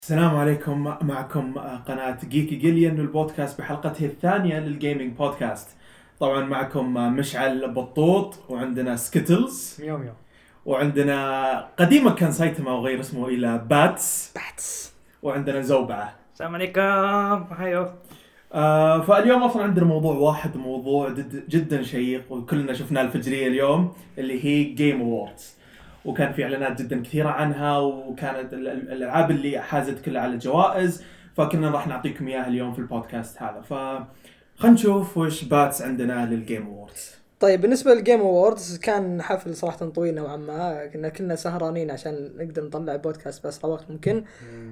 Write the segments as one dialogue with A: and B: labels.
A: السلام عليكم. معكم قناة جيكي جيليان البودكاست بحلقته الثانية للجيمنج بودكاست. طبعا معكم مشعل بطوط، وعندنا سكيتلز
B: ميو ميو
A: وعندنا قديما كان سايتما وغير اسمه إلى باتس،
B: باتس.
A: وعندنا زوبعة.
B: السلام عليكم. هايو.
A: فاليوم أصلا عندنا موضوع واحد، موضوع جدا شيق وكلنا شفناه الفجرية اليوم، اللي هي جيم أووردز. وكان في اعلانات جدا كثيره عنها، وكانت الالعاب اللي حازت كلها على الجوائز، فكنا راح نعطيكم اياها اليوم في البودكاست هذا. خلينا نشوف وش باتس عندنا للجيم أووردز.
C: طيب، بالنسبة للجيم أووردز كان حفل صراحة طويل نوعا ما، كنا سهرانين عشان نقدر نطلع بودكاست بأسرع وقت ممكن.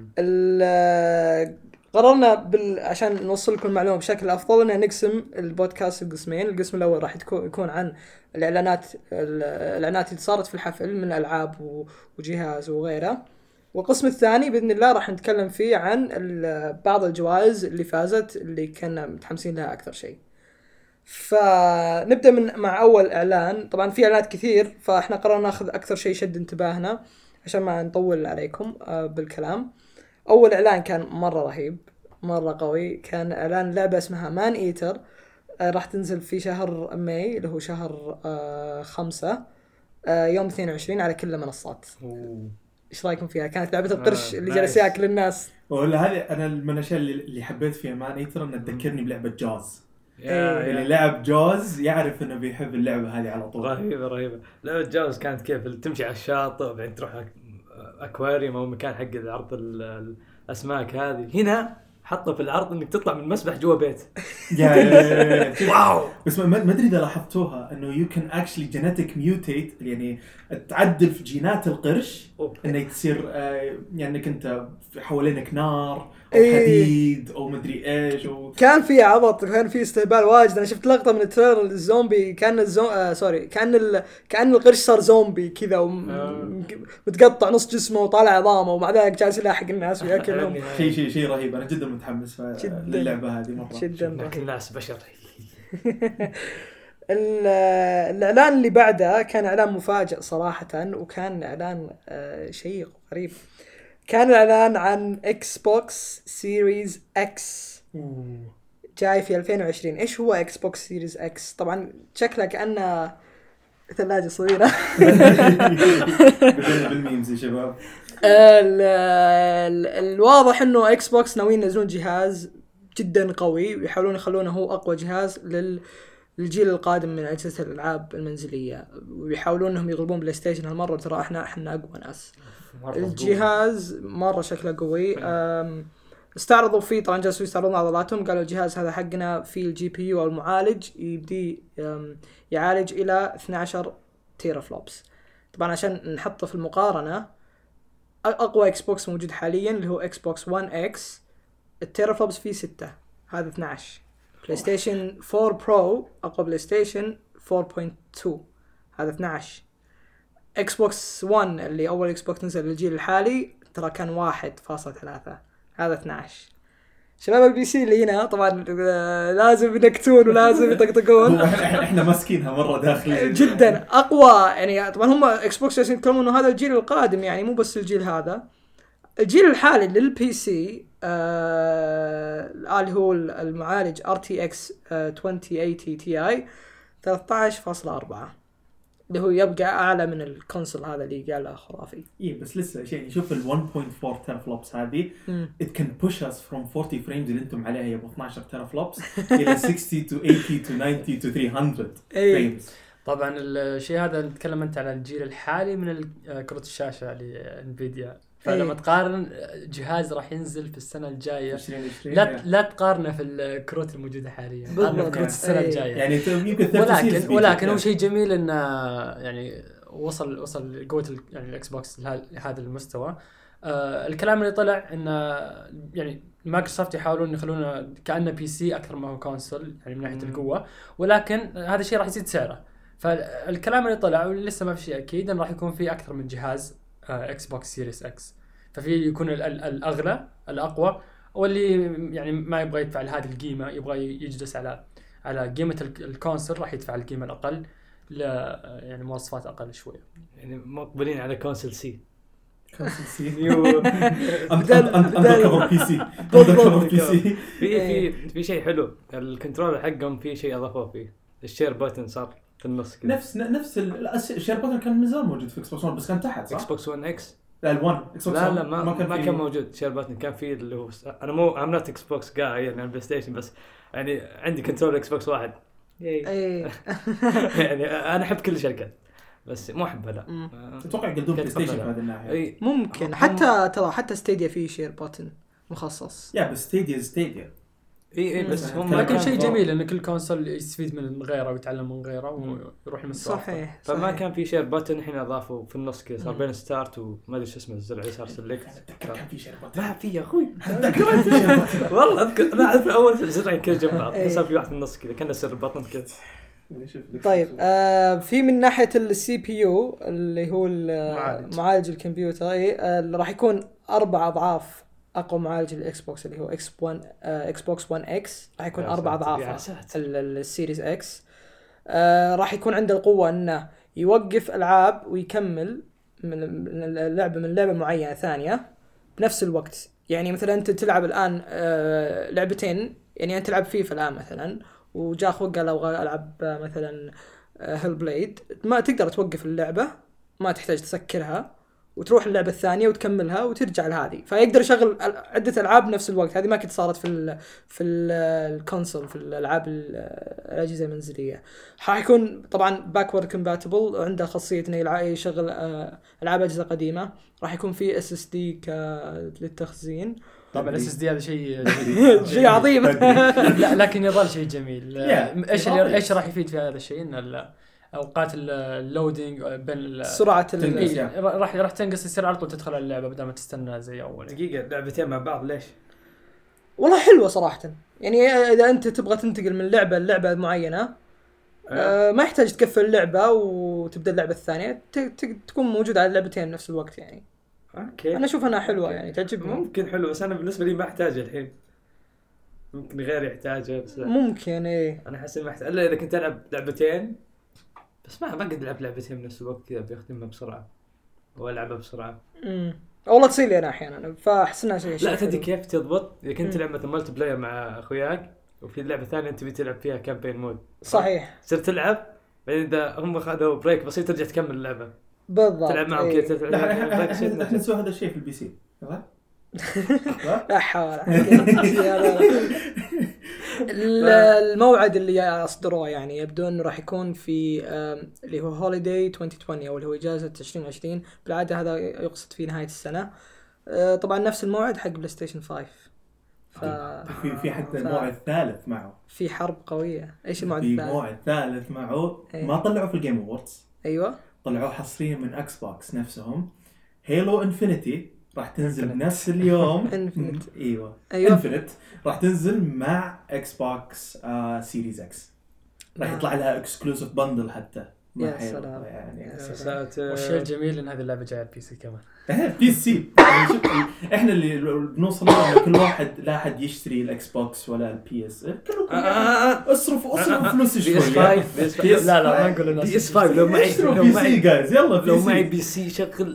C: قررنا عشان نوصل لكم المعلومة بشكل أفضل إن نقسم البودكاست لقسمين. القسم الأول راح يكون عن الإعلانات اللي صارت في الحفل من ألعاب وجهاز وغيره، والقسم الثاني بإذن الله راح نتكلم فيه عن بعض الجوائز اللي فازت اللي كنا متحمسين لها أكثر شيء. فنبدأ مع أول إعلان. طبعا في إعلانات كثير، فإحنا قررنا نأخذ أكثر شيء شد انتباهنا عشان ما نطول عليكم بالكلام. أول إعلان كان مرة رهيب، مرة قوي. كان إعلان لعبة اسمها مان إيتر، راح تنزل في شهر ماي اللي هو شهر 5، يوم 22 على كل المنصات. إيش رأيكم فيها؟ كانت لعبة القرش اللي جالس يأكل الناس.
A: ولا هذه أنا من الأشياء اللي حبيت فيها مان إيتر، إنها تذكرني بلعبة جوز. اللي لعب جوز يعرف إنه بيحب اللعبة هذه على طول.
B: رهيبة. لعبة جوز كانت كيف تمشي على الشاطئ وبعدين تروح أكواريوم أو مكان حق عرض الأسماك. هذه هنا حطوا في العرض إنك تطلع من مسبح جوا بيت.
A: واو. بس ما أدري إذا لاحظتوها إنه you can actually genetic mutate، يعني تعدل في جينات القرش إنه تصير يعني إنك أنت حوالينك نار أو حديد أو مدري إيش
C: كان في عبط، كان في استهبال واجد. أنا شفت لقطة من التريلر الزومبي، كان كان القرش صار زومبي كذا ومتقطع نص جسمه وطالع عظامه، ومع ذلك جالس يلاحق الناس وياكلهم.
A: شيء رهيب. أنا جدا متحمس للعبة هذه مرة
C: جدا.
B: لكن الناس بشر.
C: الإعلان اللي بعده كان إعلان مفاجئ صراحة، وكان إعلان شيق وغريب. كان الإعلان عن Xbox Series X جاي في 2020. إيش هو Xbox Series X؟ طبعا شكله كأنه ثلاجة صغيرة.
A: بدنا بالميمز يا شباب.
C: الواضح إنه Xbox ناويين ينزلون جهاز جدا قوي ويحاولون يخلونه هو أقوى جهاز للجيل القادم من أجهزة الألعاب المنزلية، ويحاولون إنهم يغلبون بلاي ستيشن هالمرة. ترى إحنا أقوى ناس. الجهاز مرة شكله قوي. استعرضوا فيه، طبعا جالسوا يستعرضون عضلاتهم. قالوا الجهاز هذا حقنا فيه الجي بي يو أو المعالج يبدي يعالج إلى 12 تيرا فلوبس. طبعا عشان نحطه في المقارنة، أقوى إكس بوكس موجود حاليا اللي هو إكس بوكس 1 إكس، التيرا فلوبس فيه 6، هذا 12. بلاي ستيشن 4 برو أقوى بلاي ستيشن 4.2، هذا 12. اكس بوكس 1 اللي اول اكس بوكس نزل للجيل الحالي ترى كان 1.3، هذا 12. شباب البي سي اللي هنا طبعا لازم ينكتون ولازم يطقطقون.
A: احنا ماسكينها مره داخليا
C: جدا اقوى. يعني طبعا هم اكس بوكس يتكلمون انه هذا الجيل القادم، يعني مو بس الجيل هذا. الجيل الحالي للبي سي اللي هو المعالج RTX 2080 Ti 13.4، اللي هو يبقى أعلى من الكونسول هذا اللي قاله خرافي.
A: إيه بس لسه شيء. شوف ال 1.4 تيرا فلوبس هذه it can push us from 40 frames اللي أنتم عليها يا 12 تيرا فلوبس إلى 60 to 80 to 90 to 300 frames.
B: طبعا الشيء هذا نتكلم أنت على الجيل الحالي من كرة الشاشة لإنفيديا. فلما تقارن جهاز راح ينزل في السنة الجاية
A: 2020
B: لا تقارنه في الكروت الموجودة حاليا، قارنه في كروت السنة الجاية.
A: يعني
B: ولكن هو شيء جميل إنه يعني وصل قوة يعني الإكس بوكس لهذا المستوى. الكلام اللي طلع إنه يعني مايكروسوفت يحاولون يخلونه كأنه بي سي أكثر ما هو كونسول، يعني من ناحية القوة، ولكن هذا الشيء راح يزيد سعره. فالكلام اللي طلع ولسه ما في شيء أكيد إنه راح يكون فيه أكثر من جهاز اكس بوكس سيريس اكس. ففي يكون الاغلى الاقوى، واللي يعني ما يبغى يدفع هذه القيمه، يبغى يجلس على قيمه الكونسول، راح يدفع القيمه الاقل يعني مواصفات اقل شويه.
D: يعني مقبلين على كونسول سي. نيو
A: اندر بي سي اندر بي سي.
D: في شيء حلو الكنترول حقهم، في شيء اضافوه فيه الشير بوتن صار في النص كده.
A: نفس الشير بوتن كان من زمان موجود في اكس بوكس 1 بس كان تحت صح؟
D: اكس بوكس 1 اكس
A: لا ال1 اكس بوكس
D: لا ما كان موجود شير بوتن. كان فيه اللي هو انا مو ام نوت اكس بوكس جاي يعني بلاي ستيشن، بس يعني عندي كنترول اكس بوكس واحد. يعني انا احب كل الشركات بس مو احبها. لا
A: اتوقع يقدمون بلاي ستيشن في هذه الناحيه.
C: ممكن حتى ستيديا فيه شير بوتن مخصص.
A: يا بس ستيديا
D: اي بس هم
B: ما كان شيء جميل ان كل كونسول يستفيد من غيره ويتعلم من غيره ويروح المستوى.
C: صحيح.
D: فما كان في شير بوتن، الحين اضافوا في النص كذا صار بين ستارت وما ادري شو اسمه الزر يسار سلكت.
A: كان في شير بوتن
D: ما في يا اخوي والله اذكر انا اعرف اول زرعين كذا جنب بعض، صار في واحد في النص كذا كان سر بوتن كذا.
C: طيب في من ناحيه السي بي يو اللي هو معالج الكمبيوتر راح يكون 4 أضعاف اقوى معالج الاكس بوكس اللي هو اكس بوكس 1 اكس. راح يكون 4 أضعاف السيريز اكس. راح يكون عنده القوه انه يوقف العاب ويكمل من لعبه معينه ثانيه بنفس الوقت. يعني مثلا انت تلعب الان لعبتين، يعني انت تلعب فيفا الان مثلا وجاء اخوك قال ابغى العب مثلا هيل بليد، ما تقدر توقف اللعبه، ما تحتاج تسكرها وتروح اللعبه الثانيه وتكملها وترجع لهذه. فيقدر يشغل عده العاب بنفس الوقت. هذه ما كنت صارت في الكونسول في الالعاب الاجهزه المنزليه. حيكون طبعا باكورد كومباتبل، عنده خاصيه انه يشغل العاب اجهزه قديمه. راح يكون في اس اس دي للتخزين.
B: طبعا الاس اس دي هذا شيء جميل
C: شيء عظيم.
B: لا لكن يظل شيء جميل. ايش راح يفيد في هذا الشيء؟ ان اوقات اللودينج بين
C: سرعه
B: راح تنقص، يصير على طول تدخل اللعبه بدل ما تستنى زي اول.
D: دقيقه لعبتين مع بعض ليش؟
C: والله حلوه صراحه. يعني اذا انت تبغى تنتقل من لعبه معينه ما يحتاج تقفل اللعبه وتبدا اللعبه الثانيه، تكون موجوده على اللعبتين نفس الوقت. يعني
D: اوكي
C: انا اشوف انها حلوه يعني تعجبني.
D: ممكن حلو بس انا بالنسبه لي ما احتاجه الحين، ممكن غير يحتاجه. بس
C: ممكن
D: انا احس ما احتاج الا اذا كنت العب لعبتين بس ما بقدر العب لعبتين بنفس الوقت كذا بيختمها بسرعه والعبها بسرعه.
C: والله تصير لي انا احيانا فاحس انها شيء.
D: لا تدري كيف تضبط اذا كنت تلعب مثلا مالتي بلاير مع اخوياك وفي لعبه ثانيه انت بتلعب فيها كامبين مود.
C: صحيح.
D: صرت تلعب بعدين اذا هم اخذوا بريك بسيط ترجع تكمل اللعبه
C: بالضبط.
D: تلعب معهم كذا.
A: احنا نسوي هذا الشيء في البي سي صح؟
C: لا حول. الموعد اللي اصدروه يعني يبدو انه راح يكون في اللي هو هوليداي 2020 او اللي هو اجازه 2020. بالعاده هذا يقصد في نهايه السنه. طبعا نفس الموعد حق بلاي ستيشن 5.
A: في حتى موعد ثالث معه.
C: في حرب قويه. ايش الموعد الثالث؟
A: في موعد ثالث معه ما طلعوا في الجيم أووردز.
C: ايوه
A: طلعوه حصريا من اكس بوكس نفسهم. هيلو انفينيتي راح تنزل بنفس اليوم. ايوه انفينيت راح تنزل مع اكس بوكس سيريز اكس. راح يطلع لها اكسكلوسيف بندل حتى.
C: يا سلام
A: يعني
B: والشيء الجميل ان هذه اللعبه جايه على البي سي كمان.
A: بي سي. احنا اللي بنوصل كل واحد لا احد يشتري الاكس بوكس ولا البي اس. كلكم اصرفوا فلوس شويه.
D: لا ما نقول الناس بي اس 5 لو معي
A: جايز يلا
D: لو معي بي سي شغل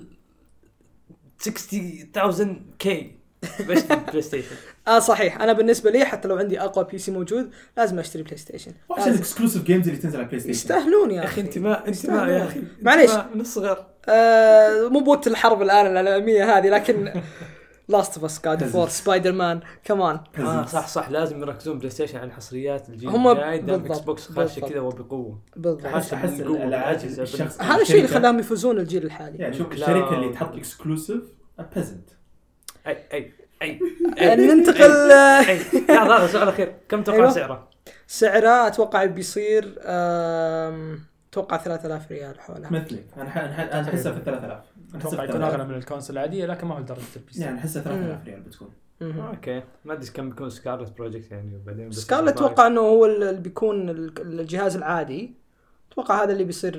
D: 60,000 كي بشتري بلاي ستيشن.
C: صحيح. انا بالنسبه لي حتى لو عندي اقوى بي سي موجود لازم اشتري بلاي ستيشن.
A: وش الاكسكلوسيف جيمز اللي تنزل على بلاي ستيشن؟
C: يستاهلون يا
D: اخي. انت ما يا اخي
C: معليش
D: من الصغر.
C: مو بوقت الحرب الان العالميه هذه لكن لاست اوف اس جاد فور سبايدر مان كمان.
D: صح لازم يركزون بلاي ستيشن على الحصريات الجيل الجاي. دام اكس بوكس خاشه كذا وبقوه.
C: بالضبط.
A: احس
C: هذا الشيء اللي خلاهم يفوزون الجيل الحالي.
A: يعني شوف الشركه اللي تحط اكسكلوسيف بيزنت.
D: اي
C: ننتقل.
D: هذا سؤال اخير. كم تتوقع
C: سعره اتوقع بيصير اتوقع 3000 ريال حولها.
A: مثلي انا احسها في 3000.
B: اتوقع يكون اغلى من الكونسول العاديه لكن ما هو لدرجه البي سي.
A: يعني احسها 3000 ريال بتكون.
D: اوكي ما ادري كم بيكون سكارلت بروجكت يعني وبعدين
C: سكارلت اتوقع انه هو اللي بيكون الجهاز العادي. اتوقع هذا اللي بيصير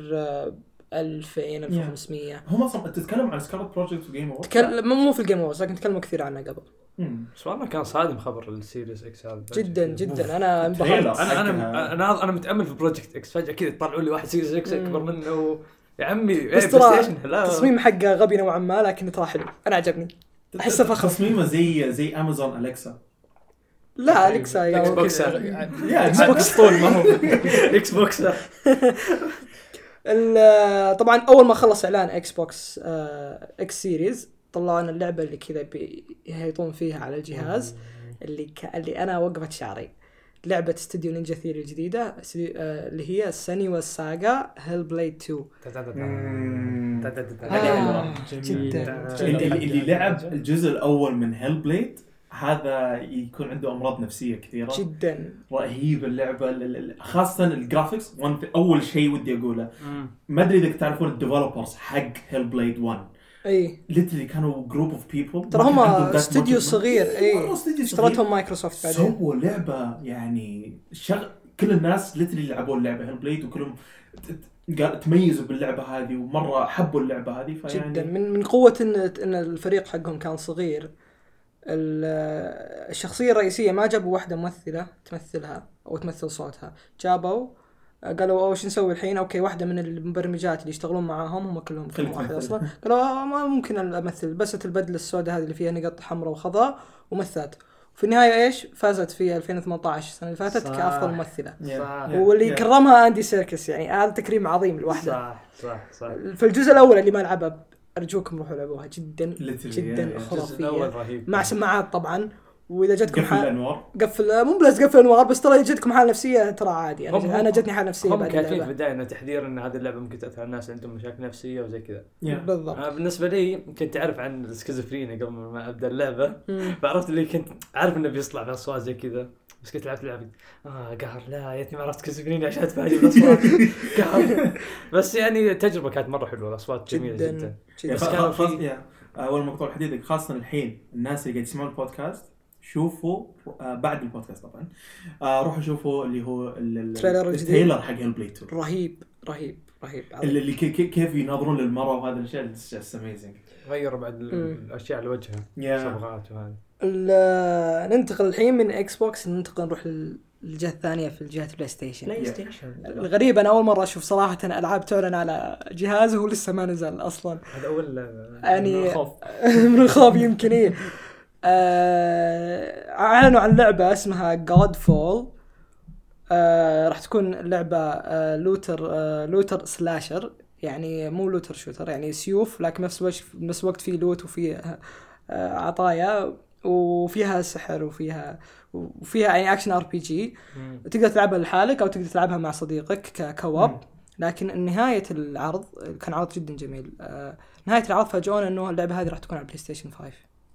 C: 2500.
A: هم اصلا تتكلم عن سكارلت بروجكت في جيم اووردز.
C: مو في الجيم اووردز لكن تكلموا كثير عنه قبل.
D: بس والله كان صادم خبر السيريس اكس هذا
C: جدا انا انبهرت.
D: انا متامل في بروجكت اكس فجاه كذا طلعوا لي واحد سيريس اكس اكبر منه يا عمي
C: بس
D: بلاي
C: ترى
D: ستيشن لا
C: التصميم حقه غبي نوعا ما، لكن ترى حلو، انا عجبني. احسه فخم.
A: تصميمه زي امازون اليكسا.
C: لا اليكسا
B: لا،
C: يعني
B: هو
D: بوكس.
B: كذا.
A: يا
B: اكس بوكس طول ما هو.
D: اكس بوكس.
C: طبعا اول ما خلص اعلان اكس بوكس اكس سيريز، طلعوا لنا اللعبه اللي كذا بيهيطون فيها على الجهاز، اللي انا وقفت شعري. لعبه استوديو نينجا ثيري الجديده، اللي هي سينيوا ساغا هيل بليد 2. جدا
A: اللي لعب الجزء الاول من هيل بليد هذا يكون عنده امراض نفسيه كثيره
C: جدا
A: رهيب. اللعبه خاصه الجرافيكس. اول شيء ودي اقوله، ما ادري اذا تعرفون الديفلوبرز حق هيل بليد 1،
C: اي
A: ليترلي كانوا جروب اوف بيبل،
C: ترى هم استوديو صغير. اي
A: استوديو
C: اشترتهم مايكروسوفت بعدين.
A: سووا لعبه يعني كل الناس ليترلي لعبوا اللعبه هيل بليد، وكلهم تميزوا باللعبه هذه ومره حبوا اللعبه هذه. فيعني
C: جدا من قوه ان الفريق حقهم كان صغير. الشخصيه الرئيسيه ما جابوا واحده ممثله تمثلها او تمثل صوتها، جابوا قالوا وش نسوي الحين؟ اوكي واحده من المبرمجات اللي يشتغلون معاهم، هم كلهم فريق واحد اصلا، قالوا ما ممكن امثل، بس البدله السوداء هذه اللي فيها نقط حمراء وخضراء ومثلت. وفي النهايه ايش فازت في 2018 السنه اللي فاتت كافضل ممثله. واللي كرمها اندي سيركس، يعني هذا تكريم عظيم لوحده.
D: صح
C: في الجزء الاول اللي ما لعبه ارجوكم روحوا لعبوها، جدا جدا خرافيه مع سماعات طبعا. واذا جتكم قفل مو بس قفل الانوار، بس ترى جتكم حاله نفسيه ترى عادي. انا جتني حاله نفسيه
D: بعد اللعبه. هم كاتبين في البدايه انه تحذير ان هذه اللعبه ممكن تاثر على الناس عندهم مشاكل نفسيه وزي كذا.
C: بالضبط.
D: بالنسبه لي كنت اعرف عن السكيزوفرينيا قبل ما ابدا اللعبه، فعرفت اللي كنت عارف انه بيطلع في اصوات زي كذا، بس كنت لعبت لعبه قهر لا يتني ما عرفت سكيزوفرينيا عشان اتفاجئ بالاصوات قهر. بس يعني التجربه كانت مره حلوه، الاصوات جميله جدا.
A: بس كان في اول مقطوع الحديد خاصه الحين الناس اللي قاعد يسمعون البودكاست شوفوا بعد البودكاست طبعا روحوا شوفوا اللي هو التريلر حق هيلبليد 2.
C: رهيب
A: اللي كيف يناظرون للمرأة وهذا الشيء just amazing.
D: غير بعد الاشياء على وجهها صبغات وهذا.
C: ننتقل الحين من اكس بوكس، نروح للجهة الثانية في الجهة بلاي ستيشن. الغريب انا اول مرة اشوف صراحة العاب تعلن على جهاز وهو لسه ما نزل اصلا.
D: هذا اول
C: يعني من الخوف يمكن. ايه اعلنوا عن لعبة اسمها God-Fall. راح تكون اللعبة لوتر سلاشر، يعني مو لوتر شوتر، يعني سيوف لكن نفس الوقت في لوت وفي عطايا وفيها سحر وفيها يعني اكشن ار بي جي. تقدر تلعبها لحالك او تقدر تلعبها مع صديقك كواب. لكن نهاية العرض كان عرض جدا جميل. نهاية العرض فاجئونا انه اللعبة هذه راح تكون على بلاي ستيشن 5.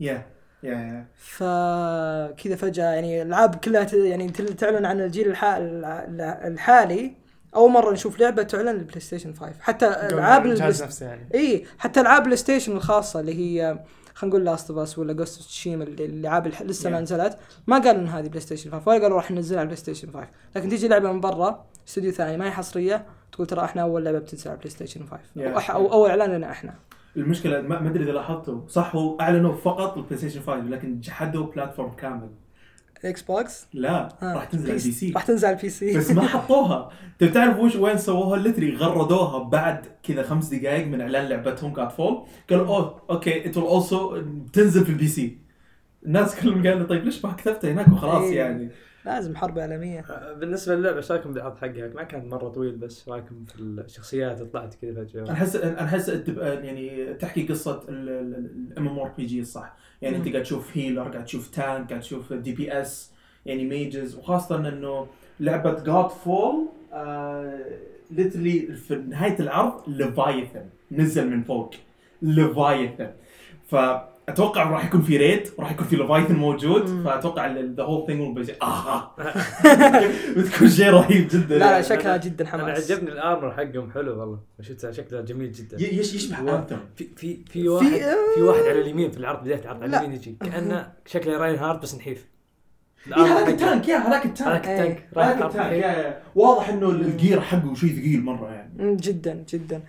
C: فكذا فجأة يعني الألعاب كلها يعني تعلن عن الجيل الحالي. أول مرة نشوف لعبة تعلن للبلاي ستيشن 5. حتى ألعاب
B: الجهاز نفسه يعني.
C: إيه حتى ألعاب بلاي ستيشن الخاصة اللي هي خلينا نقول لاست اوف اس ولا جوست اوف تشيما، اللعاب لسه ما نزلت، ما قالوا إن هذه بلاي ستيشن 5 ولا قالوا راح ننزلها على بلاي ستيشن 5. لكن تيجي لعبة من برا استوديو ثاني ما هي حصرية تقول ترى إحنا أول لعبة بتنزل على بلاي ستيشن 5 أو أول إعلان لنا إحنا.
A: المشكلة ما أدري إذا لاحظتوا صح، هو أعلنوا فقط البلاي ستيشن 5 لكن جحدوا بلاتفورم كامل.
C: اكس بوكس
A: لا راح تنزل على البي سي.
C: راح تنزل على البي سي
A: بس ما حطوها. تعرف وين سووها؟ لتري غردوها بعد كذا 5 دقائق من إعلان لعبتهم God-Fall. قالوا اوكي it will also تنزل في البي سي. الناس كلهم قالوا طيب ليش ما كتبتها هناك وخلاص يعني.
C: لازم حرب عالمية.
D: بالنسبة للعبة ايش رايكم بالعرض حقها؟ ما كان مرة طويل بس رايكم في الشخصيات اللي طلعت كذا فجأة؟
A: أنا أحس يعني تحكي قصة MMORPG الصح. يعني أنت قاعد تشوف هيلر، قاعد تشوف تانك، قاعد تشوف DPS يعني ميجز. وخاصة إنه لعبة God-Fall literally في نهاية العرض ليفايثن نزل من فوق ليفايثن. أتوقع راح يكون في ريد وراح يكون في ليفايثن موجود. فأتوقع the whole thing will be بتكون شيء رهيب جدا.
C: لا شكلها جدا حماس.
D: أنا عجبني الآرمر حقهم حلو والله، شفتها شكلها جميل جدا.
A: يشبه أنتم.
D: في واحد على اليمين في العرض، بداية العرض على اليمين يجي كأنه شكله راين هارد بس نحيف.
A: هذاك التانك هذاك التانك واضح إنه الجير حقه شيء ثقيل مرة يعني.
C: جدا جدا.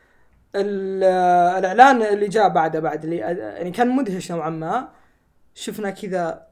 C: الإعلان اللي جاء بعد اللي يعني كان مدهش نوعا ما. شفنا كذا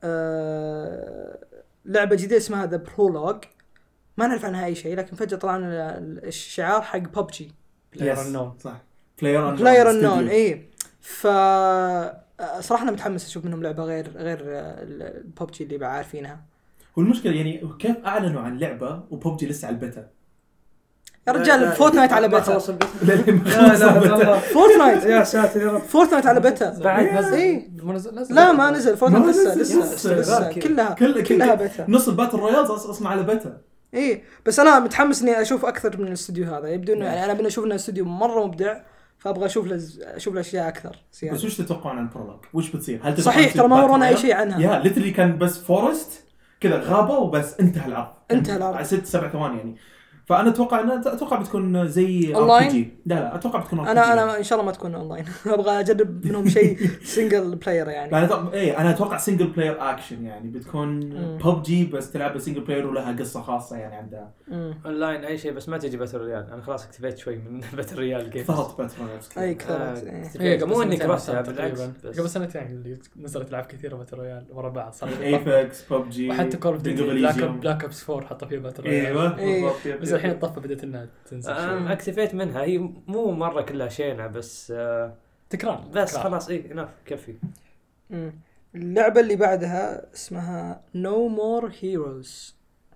C: لعبة جديدة اسمها The Prologue، ما نعرف عنها أي شيء، لكن فجأة طلعنا الشعار حق PUBG
B: بلاير النون
A: صح بلاير
C: النون اي. ف صراحه انا متحمس اشوف منهم لعبه غير الببجي اللي بعارفينها.
A: والمشكله يعني كيف اعلنوا عن لعبه وببجي لسه على البيتا
C: يا رجال فورتنايت على بيتا.
D: لا
C: فورتنايت
D: يا ساتر يا رب
C: فورتنايت على بيتا
B: بعد نزل
C: إيه؟
B: نزل
C: لا ما نزل فورتنايت
A: ما
C: لسه
A: نزل.
C: كلها بيتا.
A: نص الباتل رويالز اصلا على بيتا.
C: ايه بس انا متحمس اني اشوف اكثر من الاستوديو هذا. يبدو انه يعني انا بنا اشوف انه استوديو مره مبدع فابغى اشوف له اشياء اكثر
A: يعني. بس وش تتوقعون عن البرولوج؟ وش بتصير؟ هل
C: صحيح ترى ما ورانا اي شيء عنها.
A: يا ليترلي كان بس فورست كذا غابه وبس انتهى العرض 6-7 ثواني يعني. فانا اتوقع بتكون زي RPG. لا اتوقع بتكون RPG.
C: انا ان شاء الله ما تكون اونلاين. ابغى اجرب منهم شيء سنجل بلاير يعني.
A: انا اتوقع سنجل بلاير اكشن يعني بتكون PUBG بس تلعب سنجل بلاير ولها قصه خاصه يعني عندها
D: اونلاين اي شيء بس ما تجي باتل ريال. انا خلاص اكتفيت شوي من باتل ريال جيم.
A: ضغط باتل
C: اي كثرت
B: هي
D: مو اني كرهتها بالعكس
B: قبل سنتين اللي نزلت العاب كثيره باتل رويال ورا بعض صار
A: ايبكس PUBG
B: وحتى كول اوف ديوتي بلاك اوبس 4 حطوا فيه باتل رويال.
A: ايوه
B: بس الحين الطفه بدات انها تنزل.
D: اكتفيت منها. هي مو مره كلها شينه بس
B: تكرار
D: بس خلاص ايه ناف كفي.
C: اللعبه اللي بعدها اسمها No More Heroes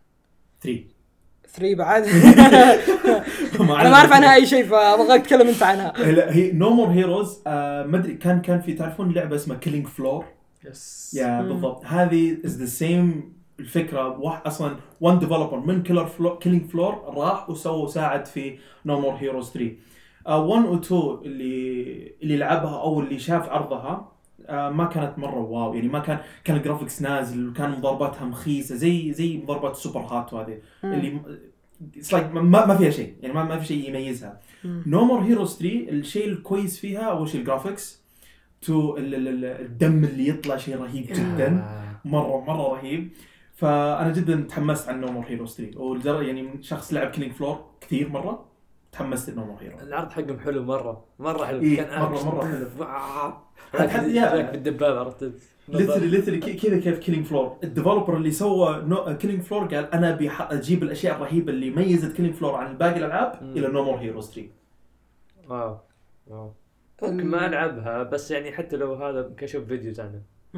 C: 3 بعد. انا ما اعرف عنها اي شيء فابغى اتكلم انت عنها.
A: لا هي No More Heroes ما ادري كان في تعرفون لعبه اسمها Killing Floor.
B: يس
A: يا بالضبط هذه is the same الفكره. اصلا one developer من Killing Floor راح وسووا ساعد في No More Heroes 3. 1 و 2 اللي لعبها او اللي شاف عرضها ما كانت مره واو يعني. ما كان الجرافيكس نازل وكان مضارباتها مخيسه زي مضاربات السوبر هات وهذه اللي ما فيها شيء يعني. ما في شيء يميزها. No More Heroes 3 الشيء الكويس فيها اول شيء الجرافيكس تو الدم اللي يطلع شيء رهيب جدا مره رهيب. فانا جدا تحمست عن No More Heroes 3 والجرى يعني شخص لعب Killing Floor كثير مره تحمست No More Heroes.
D: العرض حقهم حلو مره حلو.
A: إيه
D: كان
A: مره حلو.
D: حتى بالدبابه عرفت
A: ليترلي كذا كيف Killing Floor الديفلوبر اللي سوى Killing Floor قال انا ابي اجيب الاشياء الرهيبه اللي ميزت Killing Floor عن باقي الالعاب الى No More Heroes 3.
D: واو ممكن ما العبها بس يعني حتى لو هذا كشوف فيديوز عنه.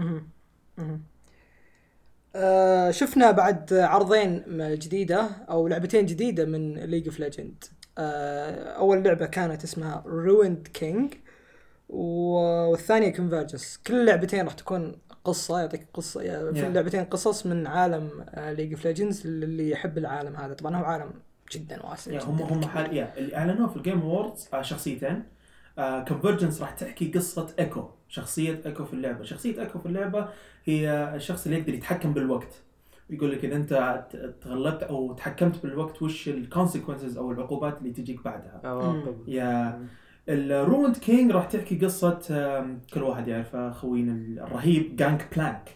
C: شفنا بعد عرضين جديدة أو لعبتين جديدة من League of Legends. أول لعبة كانت اسمها Ruined King والثانية Convergence. كل لعبتين راح تكون قصة يعطيك قصة في اللعبتين قصص من عالم League of Legends اللي يحب العالم هذا. طبعا هو عالم جدا واسع.
A: هم حاليا اللي أعلنوه في الجيم ووردز شخصيتين. Convergence راح تحكي قصة إيكو. شخصية إيكو في اللعبة. شخصية إيكو في اللعبة هي الشخص اللي يقدر يتحكم بالوقت. يقول لك إذا أنت تغلبت أو تحكمت بالوقت وش الكونسيكونسز أو العقوبات اللي تجيك بعدها. يا الرويند كينج راح تحكي قصة كل واحد يعرف خوينا الرهيب جانك بلانك.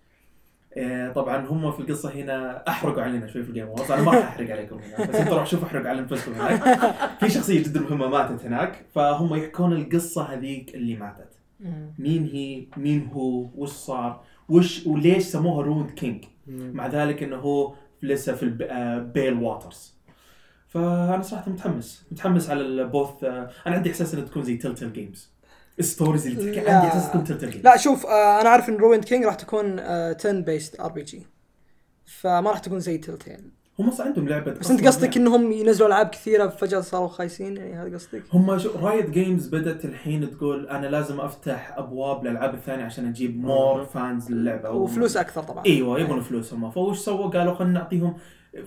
A: طبعا هم في القصة هنا أحرقوا علينا شوي في الجيم وورز. أنا ما راح أحرق عليكم هنا بس أنتوا راح شوفوا أحرق على أنفسكم هناك. في شخصية جدا مهمة ماتت هناك فهم يحكون القصة هذيك اللي ماتت. مين هو وش صار وليش سموها رويند كينج مع ذلك إنه هو لسه في بيل واترز. فأنا صراحة متحمس على البوث. أنا عندي إحساس إنه تكون زي تيلتيل جيمز الستوريز اللي تحكي. عندي إحساس تكون تيلتيل جيمز.
C: لا شوف أنا عارف إن رويند كينج راح تكون turn based RPG فما راح تكون زي تيلتيل.
A: هم عندهم لعبة
C: بس أنت قصدك إنهم ينزلوا ألعاب كثيرة فجأة صاروا خايسين يعني هذا قصدك؟
A: هم رايت جيمز بدأت الحين تقول أنا لازم أفتح أبواب للألعاب الثانية عشان أجيب مور فانز للعبة
C: وفلوس أكثر طبعا.
A: أيوة يبون فلوس هم. فوش سووا قالوا خلنا نعطيهم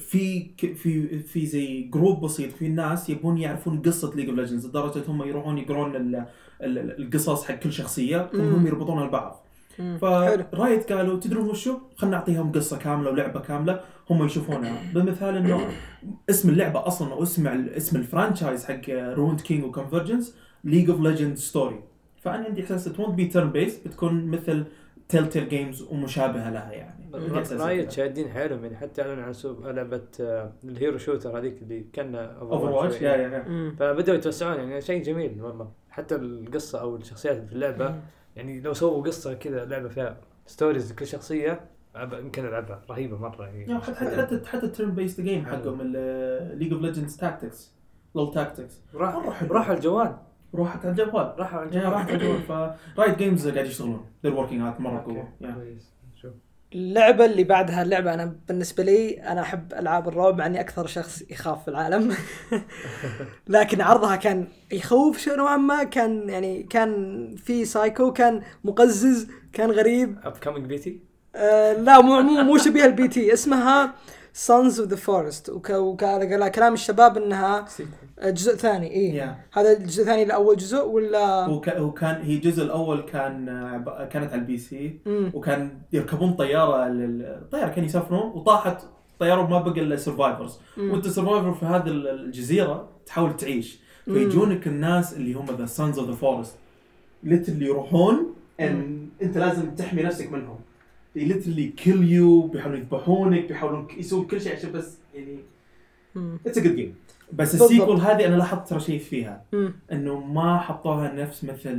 A: في زي جروب بسيط في الناس يبون يعرفون قصة ليج اوف ليجندز لدرجة هم يروحون يقرون القصص حق كل شخصية وهم يربطونها لبعض. فرايت قالوا تدرون وشو خلنا نعطيهم قصة كاملة ولعبة كاملة هم يشوفونها. بمثال انه اسم اللعبة اصلا او اسم الفرانشايز حق رويند كينج وكونفرجنس ليج اوف ليجندز ستوري. فانا عندي احساس تونت بي تيرن بيس بتكون مثل تيلتيل جيمز ومشابهة لها يعني.
D: رايت شادين حيلهم يعني حتى اعلنوا عن لعبة الهيرو شوتر هذيك اللي كان
A: اوفرواتش
D: فبدأوا يتوسعون يعني شيء جميل والله. حتى القصة او الشخصيات في اللعبة يعني لو سووا قصة كذا لعبة فيها ستوريز لكل شخصية يمكن العبها رهيبة مرة يعني.
A: حتى التيرن بيست جيم حقهم ليج اوف ليجندز تاكتكس لول تاكتكس
D: راح الجوال
A: راحت على الجوال
D: راحوا على
A: راحت على الجوال. فرايت جيمز قاعد يشتغلون they're working hard مرة قوة.
D: كويس. شوف
C: اللعبة اللي بعدها اللعبة أنا بالنسبة لي أنا أحب ألعاب الرعب مع إني أكثر شخص يخاف في العالم لكن عرضها كان يخوف شو نوعا ما. كان يعني كان في سايكو كان مقزز كان غريب.
D: upcoming بيتي
C: لا مو شبيه البي تي. اسمها Sons of the Forest وكان كلام الشباب إنها جزء ثاني. إيه هذا الجزء الثاني لأول جزء ولا
A: هو كان هي الجزء الأول كانت على البي سي وكان يركبون طيارة الطيارة كانوا يسافرون وطاحت طيارة وما بقى إلا سيرفايفرز وأنت سيرفايفر في هذه الجزيرة تحاول تعيش. فيجونك الناس اللي هم the Sons of the Forest اللي يروحون أنت لازم تحمي نفسك منهم. they literally kill you بيحاولون يذبحونك بيحاولون يسوون كل شيء عشان بس يعني it's a good game. بس السيكول هذه أنا لاحظت ترى شيء فيها إنه ما حطوها نفس مثل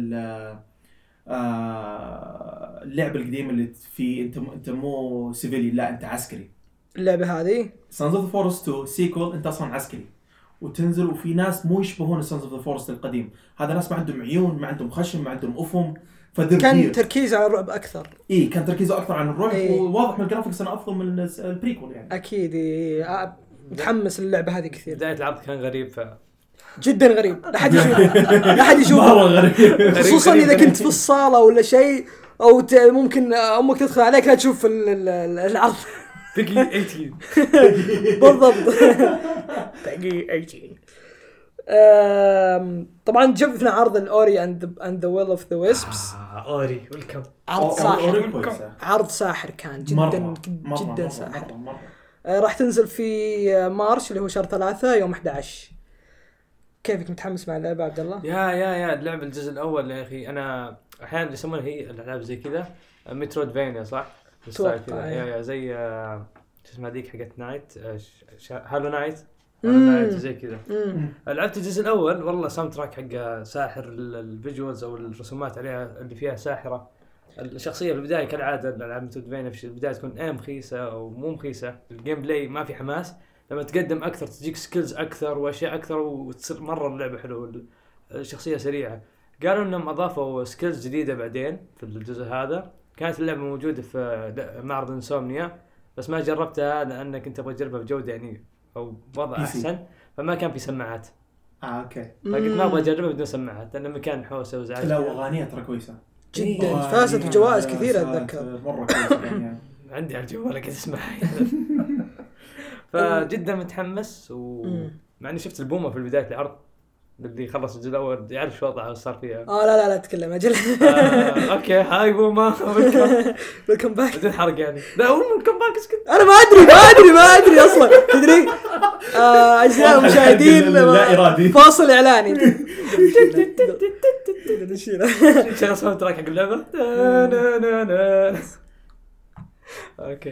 A: اللعبة القديمة اللي في أنت مو سيفيلي لا أنت عسكري.
C: اللعبة هذه
A: Sons of the Forest 2 سيكول أنت أصلاً عسكري وتنزل وفي ناس مو يشبهون Sons of the Forest القديم. هذا ناس ما عندهم عيون ما عندهم خشم ما عندهم أفهم.
C: كان تركيز على الرعب أكثر.
A: إيه كان تركيزه أكثر عن الرعب وواضح من الجرافيكس أنه أفضل من البريكول يعني.
C: أكيد متحمس اللعبة هذه كثير.
D: بداية العرض كان غريب
C: جدا غريب لا حد يشوفه
A: مرة غريب
C: خصوصا إذا كنت في الصالة ولا شيء أو ممكن أمك تدخل عليك لا تشوف العرض
D: بقي 18
C: بالضبط بقي 18. طبعا جبنا عرض الأوري and the Will of the Wisps.
D: أوري والكم
C: عرض ساحر كان جدا ساحر. راح تنزل في مارش اللي هو شهر 3 يوم 11. كيفك متحمس مع اللعبة عبد الله؟
D: يا اللعبة الجزء الأول يا أخي أنا أحيانا يسمونها هي الألعاب زي كذا مترويدفانيا صح؟ يا زي اسمها ذيك حقت نايت هالو نايت زي كذا. لعبت الجزء الأول والله ساوند تراك حق ساحر الفيجوالز أو الرسومات عليها اللي فيها ساحرة. الشخصية في البداية كالعادة الألعاب مترويدفانيا في البداية تكون مخيسة أو مو مخيسة. الجيم بلاي ما في حماس. لما تقدم أكثر تجيك سكيلز أكثر وأشياء أكثر وتصير مرة اللعبة حلوة. الشخصية سريعة. قالوا إنهم أضافوا سكيلز جديدة بعدين في الجزء هذا. كانت اللعبة موجودة في معرض إنسومنيا بس ما جربتها لأنك أنت تبغى تجربها بجودة يعني أو بوضع أحسن فما كان في سماعات.
A: أوكي.
D: فقلت ما أبغى أجربها بدون سماعات لأن مكان حوسة وزعج.
A: لا وأغانيها ترى كويسة.
C: جدا فازت بجوائز كثيرة أتذكر.
A: مرة كويسة يعني.
D: عندي على الجوال قاعد أسمعها. فجدا متحمس مع إني شفت البومة في بداية العرض اللي خلص الجزء الأول يعرف شو وضعه صار فيها.
C: لا تكلم أجل.
D: أوكي هاي بومة.
C: welcome back.
D: بدون حرق يعني. لا هو welcome back اسكت.
C: أنا ما أدري أصلا تدري. أجزاء المشاهدين
A: لا إرادي.
C: فاصل إعلاني.
D: شغل صوت تراك حق اللعبة. أوكي.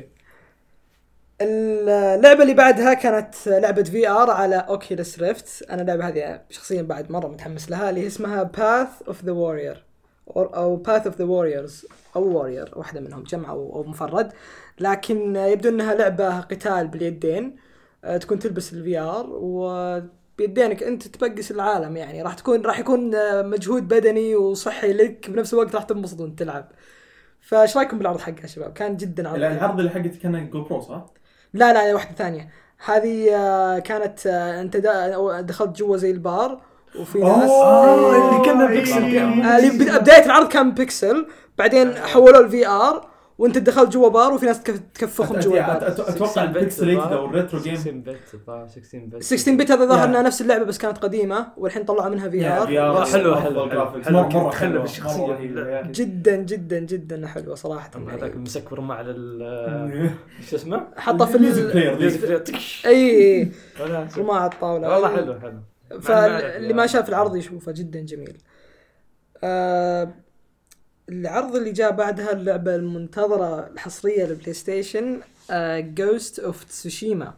C: اللعبة اللي بعدها كانت لعبة VR على أوكيوليس ريفت. أنا اللعبة هذه شخصيا بعد مرة متحمس لها اللي اسمها Path of the Warrior أو Path of the Warriors أو Warrior واحدة منهم جمع أو مفرد. لكن يبدو أنها لعبة قتال باليدين. تكون تلبس VR وبيدينك أنت تبقس العالم يعني راح يكون مجهود بدني وصحي لك بنفس الوقت راح تنبسط وانت تلعب. فايش رايكم بالعرض حقها يا شباب؟ كان جدا عرض.
A: العرض اللي حقتك كان جو برو صح؟
C: لا واحدة ثانية. هذه كانت انت دخلت جوا زي البار وفي ناس
D: اللي كنا بيكسل.
C: بداية العرض كان بيكسل بعدين حولوا الفي ار وانت دخلت جوا بار وفي ناس تكفخهم جوا البار.
A: اتوقع البيكسليت او الريترو جيم
C: 16 بت هذا ظهر انها نفس اللعبة بس كانت قديمة والحين طلعوا منها في ار.
D: حلو مرة حلو بالشخصية
C: جدا حلوة صراحة.
D: هذاك مسكر مع شو اسمه
C: حطه في
D: الميوزك
C: اي مع الطاولة
D: والله حلو.
C: فاللي ما شاف العرض يشوفه جدا جميل. العرض اللي جاء بعدها اللعبة المنتظرة الحصرية للبلاي ستيشن Ghost of Tsushima.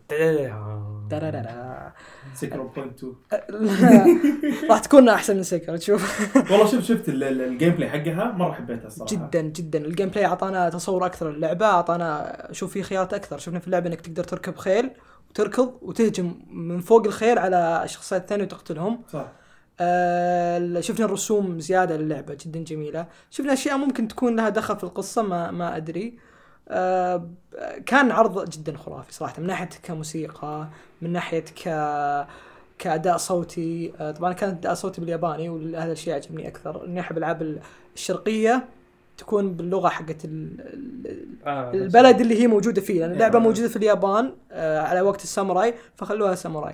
A: سيكرو بوينت
C: 2 راح تكون أحسن من سيكرو تشوف.
A: والله شفت الجيم بلاي حقها مرة حبيتها الصراحة.
C: جدا الجيم بلاي أعطانا تصور أكثر اللعبة. أعطانا شوف في خيارات أكثر. شفنا في اللعبة إنك تقدر تركب خيل وتركض وتهجم من فوق الخيل على الشخصيات الثانية وتقتلهم.
A: صح.
C: شفنا الرسوم زيادة للعبة جدا جميلة. شفنا أشياء ممكن تكون لها دخل في القصة ما أدري. كان عرض جدا خرافي صراحة، من ناحية كموسيقى، من ناحية كأداء صوتي. طبعا كان أداء صوتي بالياباني، وهذا الشيء عجبني أكثر. إني أحب الألعاب الشرقية تكون باللغة حقت البلد اللي هي موجودة فيه، لأن اللعبة موجودة في اليابان على وقت الساموراي، فخلوها ساموراي.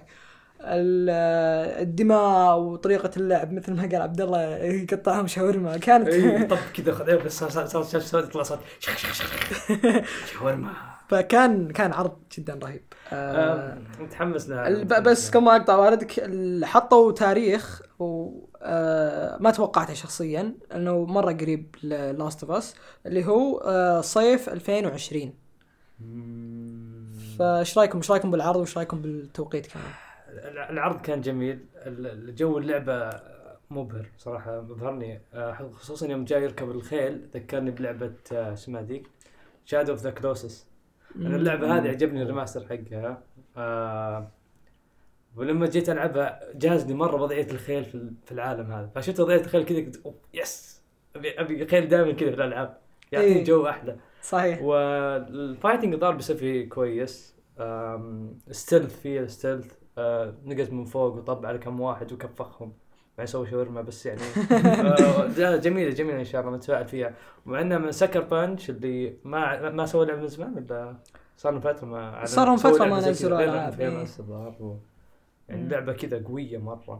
C: الدماء وطريقة اللعب مثل ما قال عبد الله يقطعهم شاورما كانت
D: طب كده خذيه بس صار يطلع صوت شاورما.
C: فكان عرض جدا رهيب.
D: متحمس له.
C: بس كما اقطع واردك، حطوا تاريخ وما توقعته شخصيا انه مره قريب لاست اوف اس اللي هو صيف 2020. فايش رايكم بالعرض وايش رايكم بالتوقيت كمان؟
D: العرض كان جميل، الجو اللعبه مبهر صراحه، مبهرني خصوصا يوم جاي يركب الخيل ذكرني بلعبه اسمها ذيك شادو اوف ذا كلوسس. أنا اللعبة هذه عجبني الريماستر حقها. ولما جيت ألعبها جازني مرة وضعية الخيل في العالم هذا، فشفت وضعية الخيل كذا قلت يس أبي خيل دائما كذا في الألعاب، يعطيني جو أحلى.
C: صحيح.
D: والفايتنج ضارب بسفي كويس. ستيلث فيه ستيلث، نقز من فوق وطب على كم واحد وكفخهم ما يسوي شاورما بس يعني. جميلة إن شاء الله متفائل فيها. ومع إنها من سكر بانش اللي ما سوى لعبة من زمان، ولا صار من فترة ما
C: نزلوا ألعاب.
D: يعني لعبة كذا قوية مرة.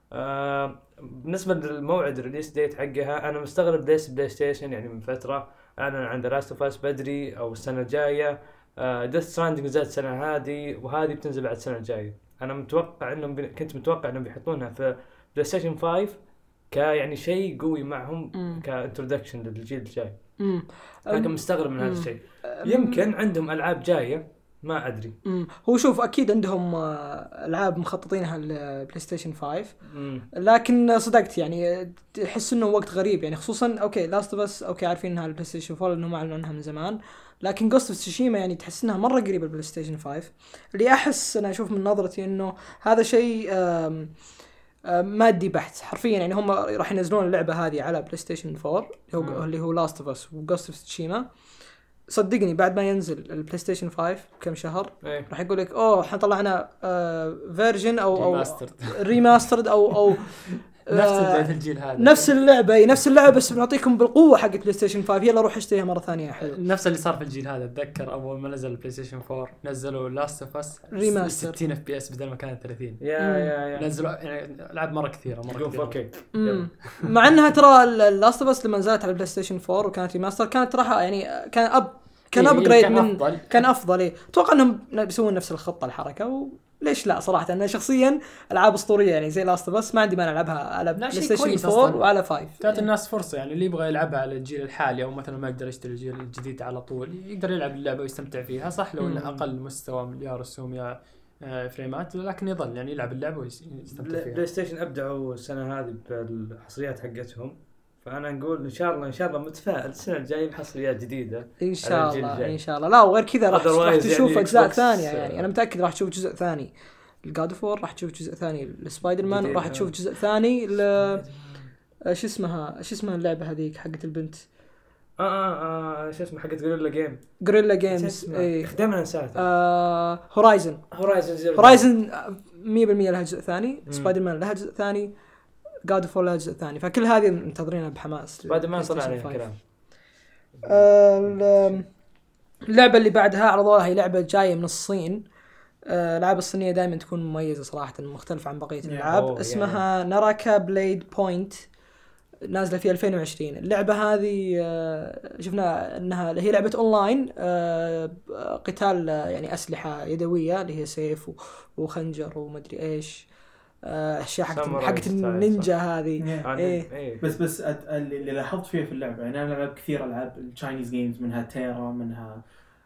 D: بالنسبة للموعد الريليس ديت حقها أنا مستغرب ليش بلاي ستيشن يعني من فترة أعلن عن The Last of Us بدري أو السنة الجاية. Death Stranding نزلت السنة هذه، وهذه بتنزل بعد السنة الجاية. أنا متوقع كنت متوقع إنهم بيحطونها في بلاي ستيشن 5 يعني شيء قوي معهم كانترودكشن للجيل الجاي. لكن مستغرب من هذا الشيء. يمكن عندهم ألعاب جاية ما أدري.
C: هو شوف أكيد عندهم ألعاب مخططينها للبلاي ستيشن 5. لكن صدقت يعني تحس إنه وقت غريب يعني، خصوصا أوكي لاست اوف اس أوكي عارفين إنها البلاي ستيشن 4 لأنهم أعلنوا عنها من زمان، لكن Ghost of Tsushima يعني تحس إنها مرة قريبة البلاي ستيشن 5. اللي أحس أنا أشوف من نظرتي إنه هذا شيء مادي بحت حرفيا يعني. هم راح ينزلون اللعبة هذه على بلاي ستيشن 4 اللي هو لاست اوف اس وغوست اوف تسوشيما. صدقني بعد ما ينزل البلاي ستيشن 5 كم شهر راح يقول لك احنا طلعنا فيرجن او ريماسترد او
B: نفس الجيل هذا،
C: نفس اللعبه بس بنعطيكم بالقوه حق بلاي ستيشن 5، يلا روح اشتريها مره ثانيه. حلو.
B: نفس اللي صار في الجيل هذا. اتذكر اول ما نزل البلاي ستيشن 4 نزلوا لاست اوف اس
C: ريماستر
B: 60 اف بي اس بدل ما كانت 30.
D: يا
B: نزلوا يعني العاب مره كثيره
C: مع انها ترى لاست اوف اس لما نزلت على البلاي ستيشن 4 وكانت ريماستر كانت راح يعني كان ابجريد من كان افضل. اتوقع انهم بيسوون نفس الخطه الحركه، ليش لا صراحه. انا شخصيا العاب اسطوريه يعني زي لاست اوف اس ما عندي مانع العبها على بلاي ستيشن 4 وعلى 5.
B: تعطي الناس فرصه يعني، اللي يبغى يلعبها على الجيل الحالي او مثلا ما يقدر يشتري الجيل الجديد على طول يقدر يلعب اللعبه ويستمتع فيها. صح لو انه اقل مستوى من يا رسوم يا فريمات، لكن يظل يعني يلعب اللعبه ويستمتع فيها.
D: بلاي ستيشن ابدعوا السنه هذه بالحصريات حقتهم، فانا نقول ان شاء الله متفائل السنه الجايه بحصريات جديده
C: ان شاء الله. لا وغير كذا راح تشوف يعني اجزاء ثانيه يعني انا متاكد راح تشوف جزء ثاني الجاد اوف وور، راح تشوف جزء ثاني لسبايدر مان، راح تشوف جزء ثاني شو اسمها اللعبه هذيك حقت البنت
D: شو اسمها حقت
C: غوريلا جيمز
D: دائما انساها.
C: هورايزن 100% لها جزء ثاني. سبايدر مان لها جزء ثاني. God of War لها جزء ثاني. فكل هذه منتظرينها بحماس.
D: سبايدر مان طلع عليه كلام.
C: اللعبة اللي بعدها عرضوها هي لعبة جاية من الصين. الألعاب الصينية دائما تكون مميزة صراحة، مختلفة عن بقية الألعاب. اسمها ناراكا بليد بوينت، نازلة في 2020. اللعبة هذه شفنا أنها هي لعبة أونلاين قتال يعني أسلحة يدوية اللي هي سيف وخنجر ومدري إيش أشياء حقت النينجا هذه.
A: بس اللي لاحظت فيها في اللعبة يعني أنا لعبت كثير ألعاب التشاينيز جيمز، منها تيرا، منها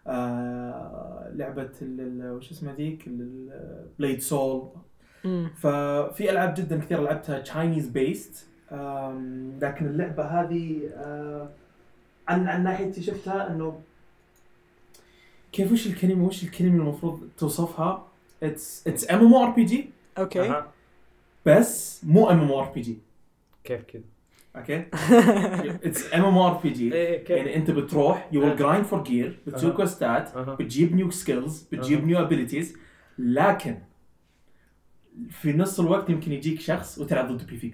A: لعبة وش اسمها ذيك بليد سول. ففي ألعاب جدا كثير لعبتها تشاينيز بيست، لكن اللعبة هذه عن ناحيتي شفتها إنه كيف وش الكلمة المفروض توصفها it's MMORPG
C: اوكي
D: أها.
A: بس مو MMORPG.
D: كيف كذا؟
A: اوكي it's MMORPG.
D: إيه، كيف؟
A: يعني انت بتروح you will grind for gear بتسوي
D: أها.
A: كوستات
D: أها.
A: بتجيب new skills بتجيب new abilities، لكن في نص الوقت يمكن يجيك شخص وتلعب ضده PvP.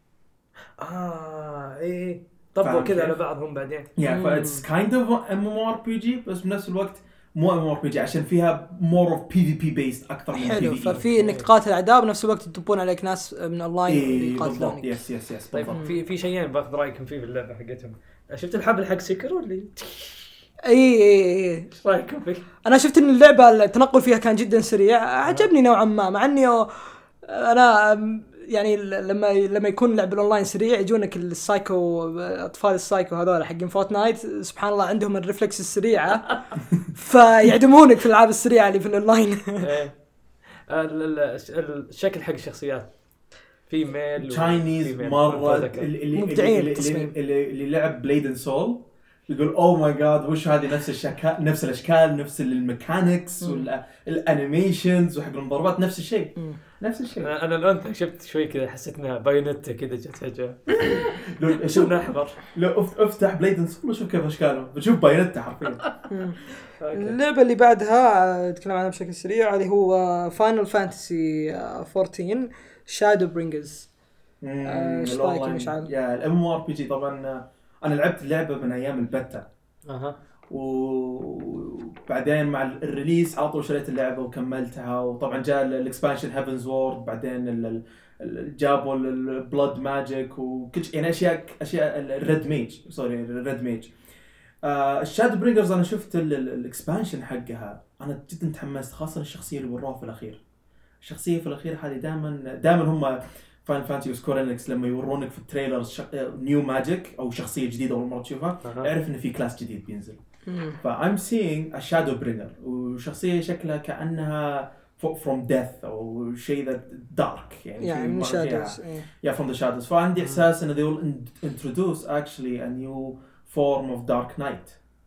D: ايه طبقوا
A: فاهم
D: كذا على
A: كيف؟
D: بعضهم بعدين.
A: yeah فايتس kind of MMORPG بس بنفس الوقت مو MMORPG عشان فيها more of PvP based اكثر من
C: حلو.
A: PvE.
C: ففي انك تقاتل اعداء بنفس الوقت تدبون عليك ناس من اونلاين
A: إيه بالضبط.
C: يقاتلونك.
A: يس
D: طيب في شيئين باخذ رايكم فيه في اللعبه حقتهم. شفت الحبل حق سيكرو اللي
C: اي
D: ايش رايكم فيه؟
C: انا شفت ان اللعبه التنقل فيها كان جدا سريع، عجبني نوعا ما، مع اني انا يعني لما يكون لعب الاونلاين سريع يجونك السايكو، اطفال السايكو هذول حقين فورتنايت سبحان الله عندهم الريفلكس السريعه فيعدمونك في الالعاب السريعه اللي في الاونلاين.
D: الشكل حق الشخصيات في ميل
A: تشاينيز مره
C: مبدعين
A: اللي لعب بليد اند سول يقول اوه ماي جاد وش هذه، نفس الاشكال نفس الميكانكس والانيميشنز وحق المضاربات نفس الشيء.
D: انا الان شفت شوي كذا حسيت انها بايونيتا كذا جت فجاه.
A: شوف
D: احمر
A: لو افتح بليد اند سول وشوف كيف اشكاله بتشوف بايونيتا حرفيا.
C: اللعبه اللي بعدها اتكلم عنها بشكل سريع اللي هو فاينل فانتسي 14 شادو برينجرز. ايش رايك مشعل؟
A: يا الام ار بي جي طبعا انا لعبت اللعبه من ايام البتا وبعدين مع الريليس على طول شريت اللعبه وكملتها، وطبعا جاء الاكسبانشن هيفنز وورد، بعدين جابوا البلود ماجيك وكل يعني اشياء الريد ميج. الشادو برينجرز انا شفت الاكسبانشن حقها انا جدا تحمست، خاصه الشخصيه اللي وروها في الاخير. الشخصيه في الاخير هذه دائما هم فان فانتسي وسكورينكس لما يورونك في التريلرز نيو ماجيك او شخصيه جديده اول مره تشوفها اعرف ان في كلاس جديد بينزل. فايم سينج الشادو برينجر وشخصيه شكلها كانها from death او شيء ذا دارك يعني
C: من shadows.
A: yeah from the shadows. فعندي احساس ان they will introduce actually a new form of dark knight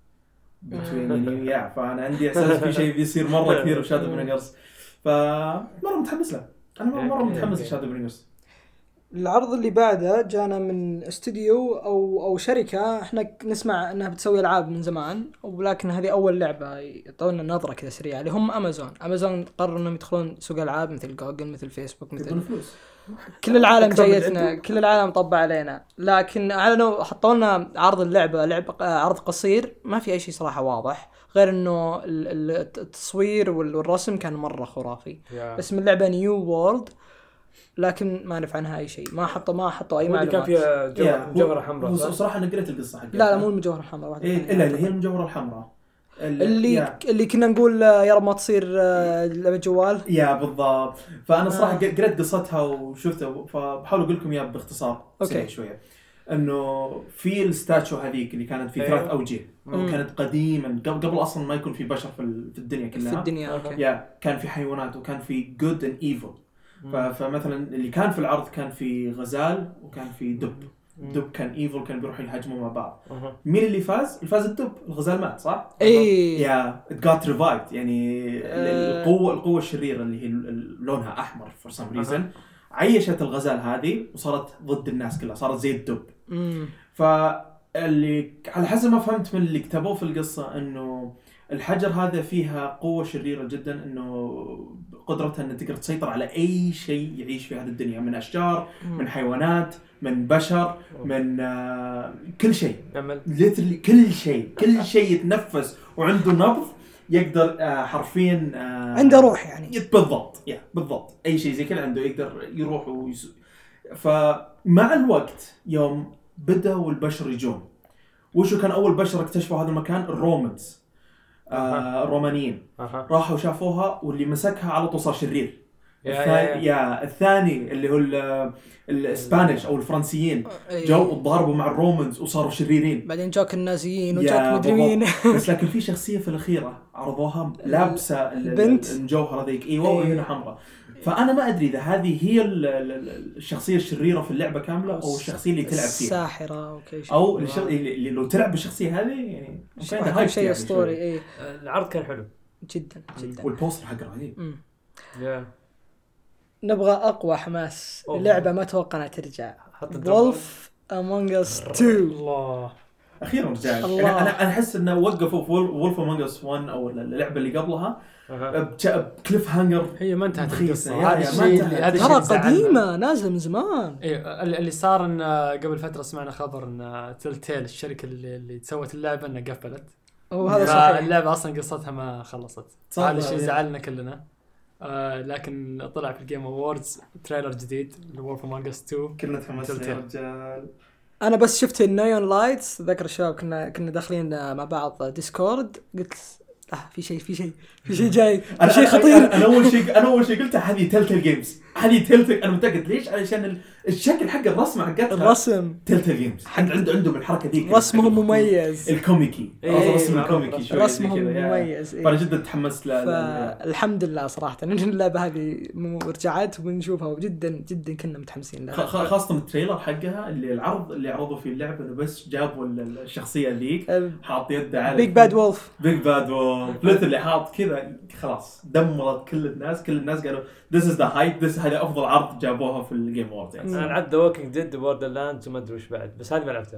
A: between فانا عندي احساس في شيء بيصير مره كثير في شادو برينجرز، فمره متحمس له. انا مره متحمس لشادو برينجرز.
C: العرض اللي بعده جانا من استوديو او شركه احنا نسمع انها بتسوي العاب من زمان، ولكن هذه اول لعبه يعطونا نظره كذا سريعه اللي هم امازون قرروا انهم يدخلون سوق العاب مثل جوجل مثل فيسبوك مثل كل العالم جايتنا، كل العالم طبع علينا، لكن اعلنوا حطوا لنا عرض اللعبه عرض قصير ما في اي شيء صراحه واضح غير انه التصوير والرسم كان مره خرافي. اسم اللعبه نيو وورلد لكن ما نعرف عنها اي شيء، ما حطوا اي معلومات.
D: كان فيها جوهره حمراء.
A: وصراحه انا قريت القصه حقتها.
C: لا مو المجوهره الحمراء واحده
A: الا اللي هي المجوهره الحمراء
C: اللي كنا نقول يا رب ما تصير لعبه جوال.
A: يا بالضبط. فانا صراحه قريت قصتها وشفتها، فبحاول اقول لكم اياها باختصار سريع شويه. انه في الستاتشو هذيك اللي كانت في 3 اوجه وكانت قديما قبل اصلا ما يكون في بشر في الدنيا كلها.
C: في الدنيا
A: كان في حيوانات وكان في good and evil. فمثلا اللي كان في العرض كان في غزال وكان في دب كان ايفل، كان بيروحوا يهاجموا مع بعض. مين اللي فاز؟ الدب. الغزال مات صح؟ يا it got revived يعني القوة الشريرة اللي هي لونها احمر for some reason عيشت الغزال هذه وصارت ضد الناس كلها، صارت زي الدب. فاللي على حسب ما فهمت من اللي كتبوه في القصة انه الحجر هذا فيها قوة شريرة جدا، انه قدرتها ان تقدر تسيطر على اي شيء يعيش في هذه الدنيا، من اشجار من حيوانات من بشر من كل شيء literally كل شيء يتنفس وعنده نبض يقدر حرفيا
C: عنده روح يعني
A: بالضبط اي شيء زي كذا عنده يقدر يروح فمع الوقت يوم بدأوا البشر يجون، وشو كان اول بشر اكتشفوا هذا المكان؟ الرومانز الرومانيين راحوا شافوها واللي مسكها على طول صار شرير. الثاني اللي هو الاسبانيش او الفرنسيين جو وضربوا مع الرومانز وصاروا شريرين،
C: بعدين جاك النازيين وجاك مدري مين.
A: بس لكن في شخصيه في الاخيره عرضوها لابسه المجوهره ذيك وهنا حمراء. فانا ما ادري اذا هذه هي الشخصيه الشريره في اللعبه كامله او الشخصيه اللي تلعب فيها
C: الساحره
A: او اللي لو تلعب بالشخصيه هذه يعني
C: شيء اسطوري.
D: العرض كان حلو
C: جدا
A: والبوستر حقه رهيب.
C: نبغى اقوى حماس لعبه ما توقع انها ترجع. وولف امونج اس 2.
B: الله
A: اخيرا رجع. يعني انا احس انه وقفوا في وولف امونج اس 1 او اللعبه اللي قبلها بكليف هانجر.
B: هي ما انتهت القصه.
A: هذا الشيء
C: ترى قديمه نازله من زمان.
B: ايه اللي صار ان قبل فتره سمعنا خبر ان تلتيل الشركه اللي سوت اللعبه انها قفلت.
C: وهذا صحيح.
B: اللعبه اصلا قصتها ما خلصت. هذا الشيء زعلنا كلنا. لكن طلع في الجيم اووردز تريلر جديد لوولف امونج اس 2.
A: كلنا تحمسنا يا رجال.
C: انا بس شفت النيون لايتس ذكر الشباب كنا داخلين مع بعض ديسكورد قلت في شيء جاي شيء خطير.
A: انا اول شيء قلت هذه تلتل جيمز. انا متاكد ليش علشان الشكل حق الرسمه حقتها
C: الرسم
A: تلتل جيمز عندهم الحركه ذيك
C: رسمهم مميز
A: الكوميكي رسم الكوميكي شوي
C: رسمهم مميز.
A: فانا جدا تحمست
C: الحمد لله صراحه ان اللعبه هذه رجعت ونشوفها وجدا كنا متحمسين لها
A: خاصه التريلر حقها العرض اللي عرضوا فيه اللعبه بس جابوا الشخصيه ذيك حاط يده على
C: بيج باد وولف
A: اللي حاط كذا خلاص دمرت كل الناس قالوا this is the hype هذا افضل عرض جابوها في الجيم وورد. يعني
D: انا لعبت The Walking Dead Borderlands وما ادري وش بعد بس هذه ما لعبتها.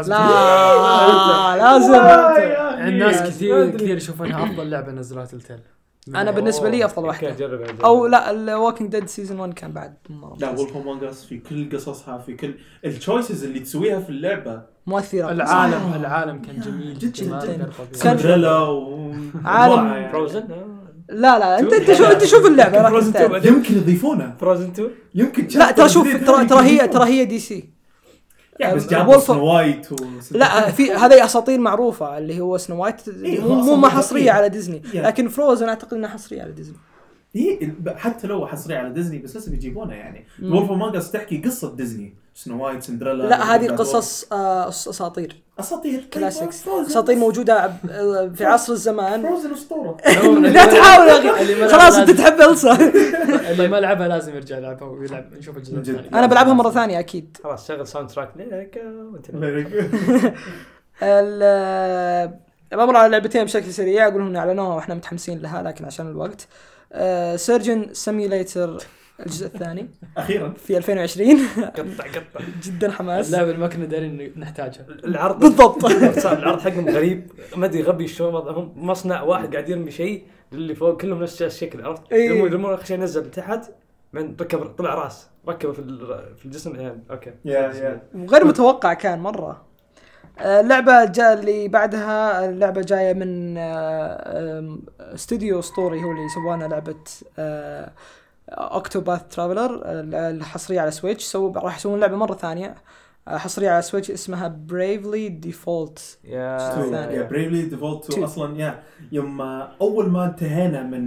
C: لازم
B: الناس كثير يشوفونها افضل لعبه نزلوها تلتيل.
C: انا بالنسبه لي افضل واحده او لا الووكينج ديد سيزون 1 كان بعد مره.
A: لا وولف امونج اس في كل قصصها في كل التشويسز اللي تسويها في اللعبه
C: مؤثره.
B: العالم كان جميل
C: جدا.
A: سندريلا
C: عالم
D: فروزن.
C: لا انت شوف اللعبه
A: يمكن يضيفونها
D: فروزن 2
A: يمكن.
C: لا ترى هي دي سي
A: يعني بس جابوا سنو وايت
C: لا في هذه اساطير معروفه اللي هو سنو وايت مو ما حصريه على ديزني لكن فروزن اعتقد انها حصريه على ديزني.
A: حتى لو حصريه على ديزني بس لسه بيجيبونها. يعني وولف امونج اس تحكي قصه ديزني سنو وايت سندريلا.
C: لا هذه قصص اساطير كلاسيكس اساطير موجوده في عصر الزمان.
A: فروزن اسطوره.
C: لا تحاول يا اخي خلاص انت تحب إلسا.
B: اللي ما لعبها لازم يرجع يلعبها ويلعب نشوف الجزء الثاني.
C: انا بلعبها مره ثانيه اكيد.
D: خلاص شغل ساوند تراك لك وانت
C: بمر على لعبتين بشكل سريع اقول لهم اعلنوها واحنا متحمسين لها لكن عشان الوقت. سيرجن سيميوليتر الجزء الثاني
A: اخيرا
C: في 2020
D: قطع
C: جدا حماس.
B: اللعبه اللي ما كنا دارين نحتاجها.
D: العرض
C: بالضبط.
D: العرض حقهم غريب ما ادري غبي شلون هم مصنع واحد قاعد يرمي شيء اللي فوق كلهم نفس الشكل عرفت يرمون خشيه نزل تحت من ركب طلع راس ركبه في الجسم يعني اوكي
C: وغير متوقع كان مره. اللعبة اللي بعدها اللعبة جاية من استوديو اسطوري هو اللي سوانا لعبة اوكتوباث ترافلر الحصرية على سويتش. راح يسوون لعبة مرة ثانية حصرية على سويتش اسمها بريفلي ديفولت.
A: بريفلي ديفولت اصلا يوم اول ما انتهينا من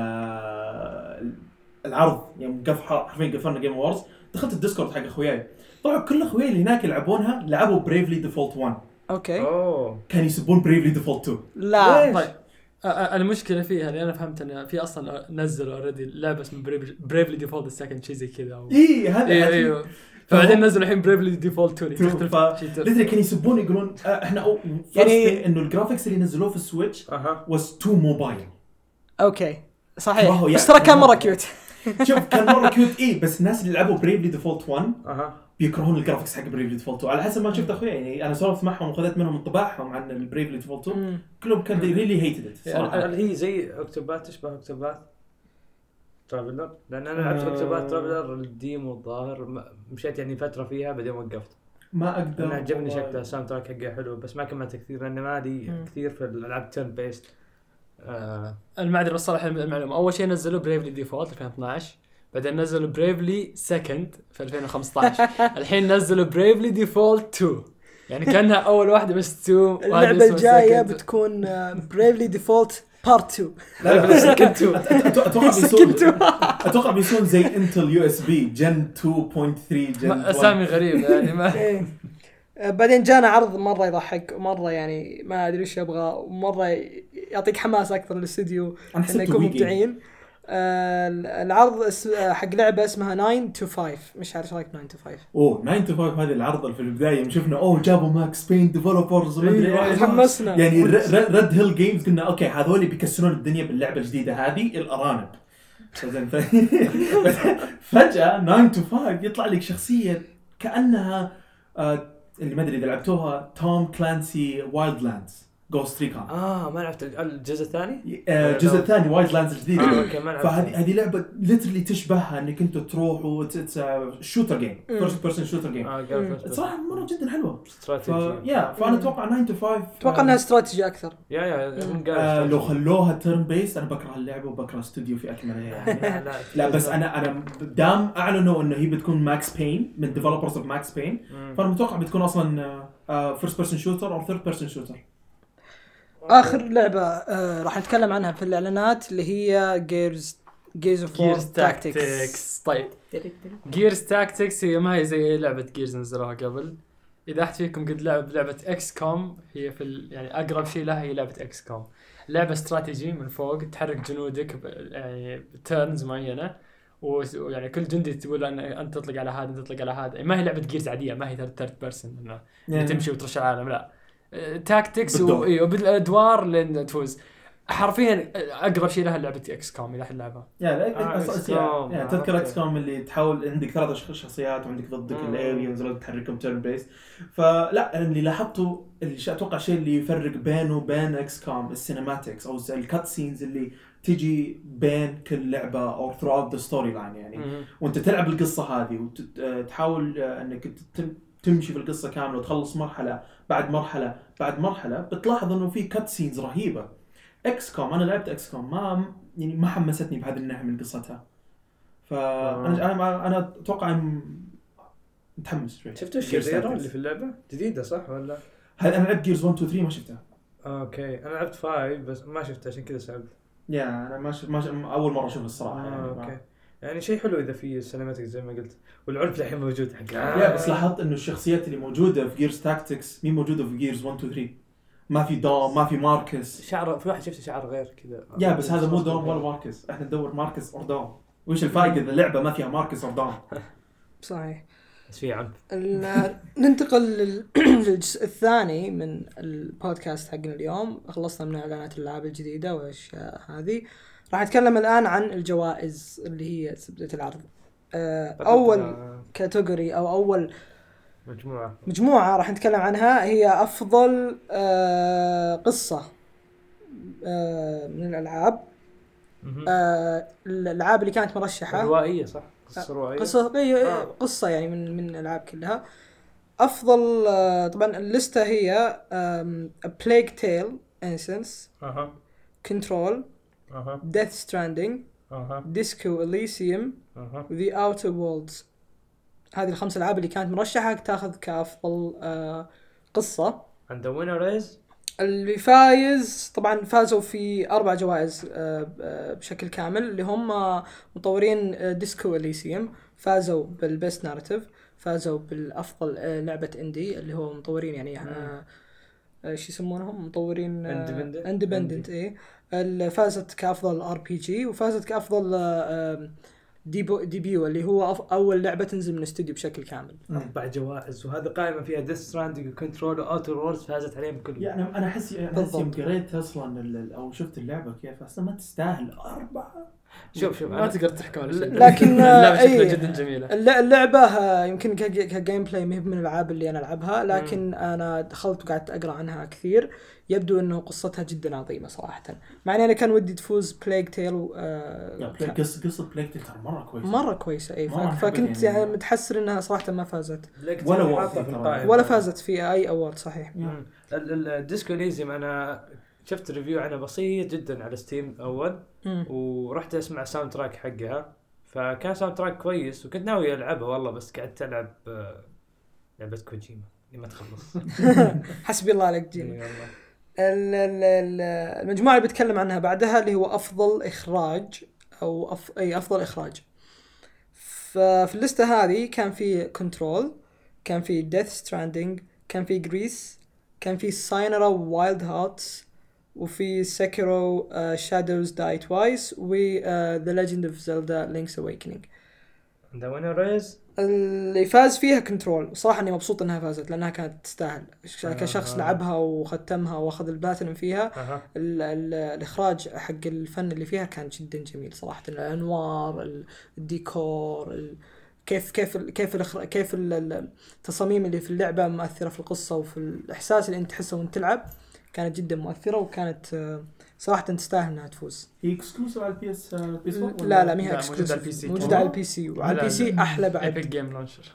A: العرض يوم حرفيا قفلنا جيم وورز دخلت الديسكورد حق اخوياي طلعوا كل اخوياي اللي هناك يلعبونها لعبوا بريفلي ديفولت 1.
C: اوكي
A: كان يسبون بريفلي ديفولت 2.
C: لا
B: طيب المشكله فيها اللي انا فهمت ان في اصلا نزلوا اوريدي لعبه اسمها بريفلي ديفولت السكند شيء زي كذا
A: هذا
B: ايوه فبعدين نزلوا الحين بريفلي ديفولت 2
A: لذلك كانوا يسبون يقولون احنا يعني انه الجرافيكس اللي نزلوه في السويتش was too mobile.
C: اوكي صحيح بس ترى كان مره كيوت.
A: شوف كان مره كيوت بس الناس اللي لعبوا بريفلي ديفولت 1 بيكرهون الجرافيكس حق بريفلي ديفولت 2 على حسب ما شفت اخويا. يعني انا سولفت معهم وخذت منهم انطباعهم عن البريفلي ديفولت 2 كلهم كان ريلي هيتد صراحه.
D: هي زي اوكتوبات تشبه اوكتوبات ترافلر لان انا لعبت اوكتوبات ترافلر الديمو الظاهر مشيت يعني فتره فيها بعدين وقفت ما اقدر. انا عجبني شكله الساوند تراك حقه حلو بس ما كملت كثير لان ما لي كثير في الالعاب تيرن بيست.
B: المعذره الصراحه المعلومه اول شيء نزلوا بريفلي ديفولت 2012 بعدين نزلوا بريفلي سكند في 2015 الحين نزلوا بريفلي ديفولت 2 يعني كانها اول واحده بس 2.
C: اللعبه الجايه بتكون بريفلي ديفولت بارت 2
B: لا سكند
C: 2
A: اتوقع بيسون زي انتل يو اس بي جن 2.3 جن
B: اسامي غريبه يعني ما
C: بعدين جانا عرض مره يضحك ومره يعني ما ادري ايش يبغى ومره يعطيك حماس اكثر للاستوديو انه يكون مبدعين. العرض حق لعبه اسمها 9 to 5 مش عارف رايك 9 to 5
A: 9 to 5 هذه العرض اللي في البدايه شفنا جابوا ماكس بين ديفلوبرز
C: حمسنا
A: يعني ريد هيل جيمز قلنا اوكي هذول بيكسرون الدنيا باللعبه الجديده هذه الارانب زين فجأة 9 to 5 يطلع لك شخصية كأنها اللي ما أدري إذا لعبتوها توم كلانسي وايلدلاندز Ghost Recon.
D: ما لعبت الجزء الثاني.
A: الجزء الثاني وايلدلاندز الجديد.
D: اوكي ما لعبت.
A: فهذه لعبة ليترلي تشبهها انك انتوا تروحوا شوتر جيم فيرست بيرسون شوتر جيم. صراحة مرة جدا حلوة. فانا اتوقع 9 to 5
C: اتوقع انها استراتيجي اكثر.
A: لو خلوها تيرن بيس انا بكره اللعبة وبكره استوديو في اكمله يعني. لا بس انا دام اعلنوا انه هي بتكون ماكس بين من ديفلوبرز اوف ماكس بين فانا متوقع بتكون اصلا فيرست بيرسون شوتر او ثيرد بيرسون شوتر.
C: اخر لعبه راح نتكلم عنها في الاعلانات اللي هي جيرز اوف وور تاكتكس.
B: طيب جيرز تاكتكس هي ما هي زي لعبه جيرز نزلوها قبل. اذا احد فيكم قد لعب لعبه اكس كوم هي في يعني اقرب شيء لها هي لعبه اكس كوم. لعبه استراتيجي من فوق تحرك جنودك يعني تيرنز معينه ويعني كل جندي تقول انت تطلق على هذا تطلق على هذا. ما هي لعبه جيرز عاديه ما هي ثيرد بيرسون انه تمشي وترش العالم لا تاكتكس وبالادوار لين تفوز. حرفيا اقرب شيء لها لعبه اكس كوم اذا لعبها.
A: يعني تذكر اكس كوم اللي تحاول عندك 3 شخصيات وعندك ضدك الالينز اللي تحركهم تيرن بيس. فلا اللي لاحظته اللي اتوقع شيء اللي يفرق بينه وبين اكس كوم السينماتكس او الكات سينز اللي تيجي بين كل لعبه او throughout the storyline يعني. وانت تلعب القصه هذه وتحاول انك تمشي في القصة كاملة وتخلص مرحلة بعد مرحلة بعد مرحلة بتلاحظ إنه في كات سينز رهيبة. إكس كوم أنا لعبت إكس كوم ما حمستني بهذا الناحية من قصتها. فأنا أتوقع متحمس شوي.
D: شفتوا الشريرة اللي في اللعبة جديدة صح ولا؟
A: هل أنا لعبت جيرز 1 2 3 ما شفتها.
D: أوكي أنا لعبت 5 بس ما شفتها عشان كذا سألت.
A: أنا ما أول مرة أشوف الصراحة يعني.
D: أوكي. يعني شيء حلو إذا في سينماتيك زي ما قلت والعنف الحين موجود حقها.
A: بس لاحظت إنه الشخصيات اللي موجودة في جيرز تاكتكس مين موجودة في جيرز 1 2 3 ما في دوم ما في ماركس.
D: شعر في واحد شفت شعر غير كذا.
A: بس هذا مو دوم ولا ماركس. إحنا ندور ماركس أو دوم. وإيش الفائدة إذا اللعبة ما فيها ماركس أو دوم.
C: صحيح.
D: بس في عنف.
C: ننتقل للجزء الثاني من البودكاست حقنا اليوم. خلصنا من اعلانات الالعاب الجديدة والاشياء هذه. راح نتكلم الآن عن الجوائز اللي هي زبدة العرض. أول كاتيجوري أو أول مجموعة راح نتكلم عنها هي أفضل قصة من الألعاب. الألعاب اللي كانت مرشحة
D: روائية صح؟
C: قصة يعني من الألعاب كلها. أفضل طبعا الليستة هي A Plague Tale Innocence Control Death Stranding Disco Elysium The Outer Worlds. هذه الخمس ألعاب اللي كانت مرشحة تأخذ كأفضل قصة.
D: And the winner is
C: اللي فايز طبعا فازوا في 4 جوائز بشكل كامل اللي هم مطورين ديسكو إليسيوم فازوا بالبست ناريتيف فازوا بالأفضل لعبة اندي اللي هو مطورين يعني شو يسمونهم مطورين اندبندنت فازت كأفضل RPG وفازت كأفضل ديبيو اللي هو أول لعبة تنزل من استوديو بشكل كامل.
D: 4 جوائز وهذا قائمة فيها ديث ستراندينج وكنترول وأوتر وورلدز فازت عليهم كلهم.
A: يعني أنا أحس يوم قريت أصلا أو شفت اللعبة كيف أصلا ما تستاهل 4.
B: شوف ما تقدر تحكم على شيء
C: لكن
B: اللعبة شكلها جدا جميلة.
C: اللعبة يمكن كجيم بلاي مهب من الألعاب اللي أنا ألعبها لكن أنا دخلت وقعدت أقرأ عنها كثير. يبدو أنه قصتها جدا عظيمة صراحة. مع أني أنا كان ودي تفوز بلايغ تيل
A: قصة بلايغ تيل
C: مرة كويسة فكنت يعني متحسر أنها صراحة ما فازت
A: ولا
C: فازت في أي أورد. صحيح.
D: الديسكو إليزيوم أنا شفت ريفيو عنها بسيط جدا على ستيم أول ورحت أسمع ساوند تراك حقها فكان ساوند تراك كويس وكنت ناوي ألعبها والله بس قعدت ألعب لعبة كوجيما لما تخلص.
C: حسبي الله عليك جيني. المجموعة اللي بتكلم عنها بعدها اللي هو أفضل إخراج أو أفضل إخراج. ففي الليستة هذه كان في كنترول كان في ديث ستراندينج كان في جريس كان في ساينرا وايلد هارتس وفي سيكيرو شادوز داي توايس و The Legend of Zelda Link's Awakening.
D: The winner is
C: اللي فاز فيها كنترول. صراحة اني مبسوط انها فازت لانها كانت تستاهل كشخص لعبها وختمها واخذ البلاتينم فيها. الاخراج حق الفن اللي فيها كان جدا جميل صراحة. الانوار، الديكور، كيف التصاميم اللي في اللعبة مؤثرة في القصة وفي الإحساس اللي أنت تحسه وأنت تلعب، كانت جدا مؤثرة وكانت صراحة تستاهل انها تفوز.
A: هي اكسكلوسيف على البي اس؟
C: لا ما هي اكسكلوسيف، موجودة على البي سي، وعلى البي سي احلى بعد.
B: ايبك جيم لونشر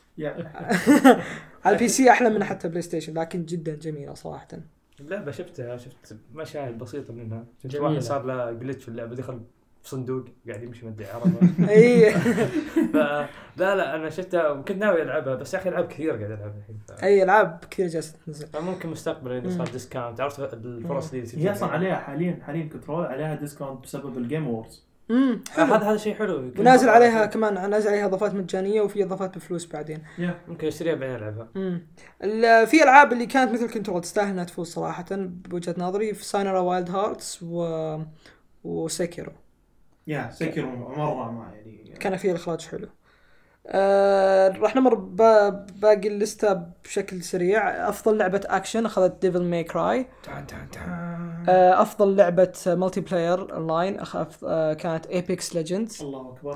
C: على البي سي احلى من حتى بلاي ستيشن، لكن جدا جميلة صراحة.
D: اللعبة شفت مشاهد بسيطة منها. واحد صار له جليتش في اللعبة، دخل في صندوق قاعد يمشي مدري عرضه.
C: اي
D: لا انا شفتها وكنت ناوي العبها، بس يا اخي العاب كثير قاعد العبها الحين.
C: اي العاب كثير جالسه تنزل،
D: ممكن مستقبلا اذا صار ديسكاونت. عرفت الفرص دي
A: هي اصلا عليها حاليا كنترول عليها ديسكاونت بسبب الجيم وورز.
D: هذا شيء حلو.
C: ونازل عليها كمان، نازل عليها اضافات مجانيه وفي اضافات بفلوس بعدين.
D: ممكن اشتريها بعدين العبها.
C: في العاب اللي كانت مثل كنترول تستاهل انها تفوز صراحه بوجهه نظري، في ساينرا وايلد هارتس وسيكيرو.
A: سيكيرو مره ما يعني
C: كان فيه الاخراج حلو. راح نمر باقي الليسته بشكل سريع. افضل لعبه اكشن اخذت ديفل ماي كراي. افضل لعبه ملتي بلاير اونلاين كانت ايبكس ليجندز.
A: الله اكبر.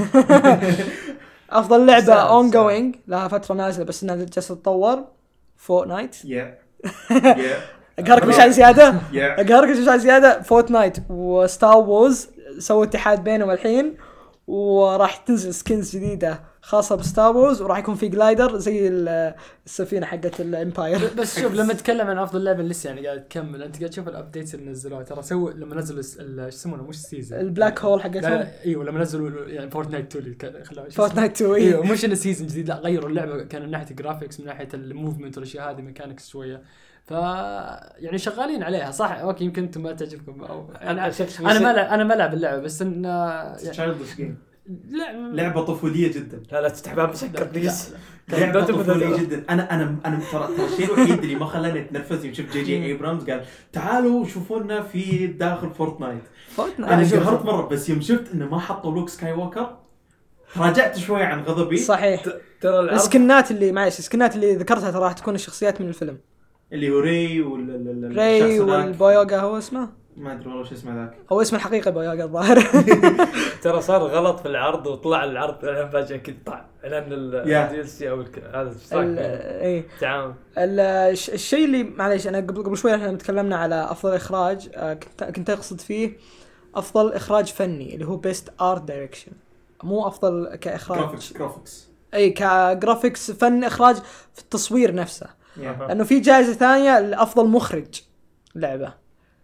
C: افضل لعبه اون جوينج لها فتره نازله بس انها جالسه تتطور، فورتنايت. اقهرك مش عن زياده. فورتنايت وستار وورز سووا اتحاد بينهم الحين، وراح تنزل سكنز جديده خاصه بستار وورز، وراح يكون في جلايدر زي السفينه حقت الامباير.
B: بس شوف لما تتكلم عن افضل لعبه لسه يعني قاعد تكمل، انت قاعد تشوف الابديتس اللي نزلوها ترى. سووا لما نزلوا ايش يسمونه مش سيزون، البلاك
C: هول حقتهم.
B: ايوه لما نزلوا يعني فورتنايت 2
C: فورتنايت 2
B: ايوه مش انه سيزون جديد، لا غيروا اللعبه كان من ناحيه الجرافيكس، من ناحيه الموفمنت والاشياء هذه، ميكانكس شويه. ف يعني شغالين عليها صح. اوكي يمكن انتم ما تعجبكم او انا ما العب اللعبه، بس ان
A: تشايلدش جيم لعبه طفوليه جدا.
D: لا تفتح مسكر بليز.
A: لعبه طفوليه جدا. انا ترى الشيء الوحيد اللي ما خلاني اتنفس يوم شفت جي ايبرامز قال تعالوا شوفونا في داخل فورتنايت. انا انقهرت مره، بس يوم شفت انه ما حطوا لوك سكاي ووكر راجعت شوي عن غضبي.
C: صحيح. ترى السكنات اللي ذكرتها ترى راح تكون الشخصيات من الفيلم، اللي
A: هو ري
C: والبويوغا. هو اسمه
A: ما ادري والله شو اسمه ذاك،
C: هو اسمه الحقيقي بويوغا الظاهر.
D: ترى صار غلط في العرض وطلع العرض الان فجاه كذا طلع لان الدي ال سي او هذا
C: اي تعاون. الشيء اللي معليش انا قبل شوي احنا تكلمنا على افضل اخراج، كنت اقصد فيه افضل اخراج فني اللي هو بيست ارت دايركشن، مو افضل كاخراج
A: جرافيكس.
C: اي كجرافيكس فن اخراج في التصوير نفسه. لانه في جائزه ثانيه لافضل مخرج لعبه.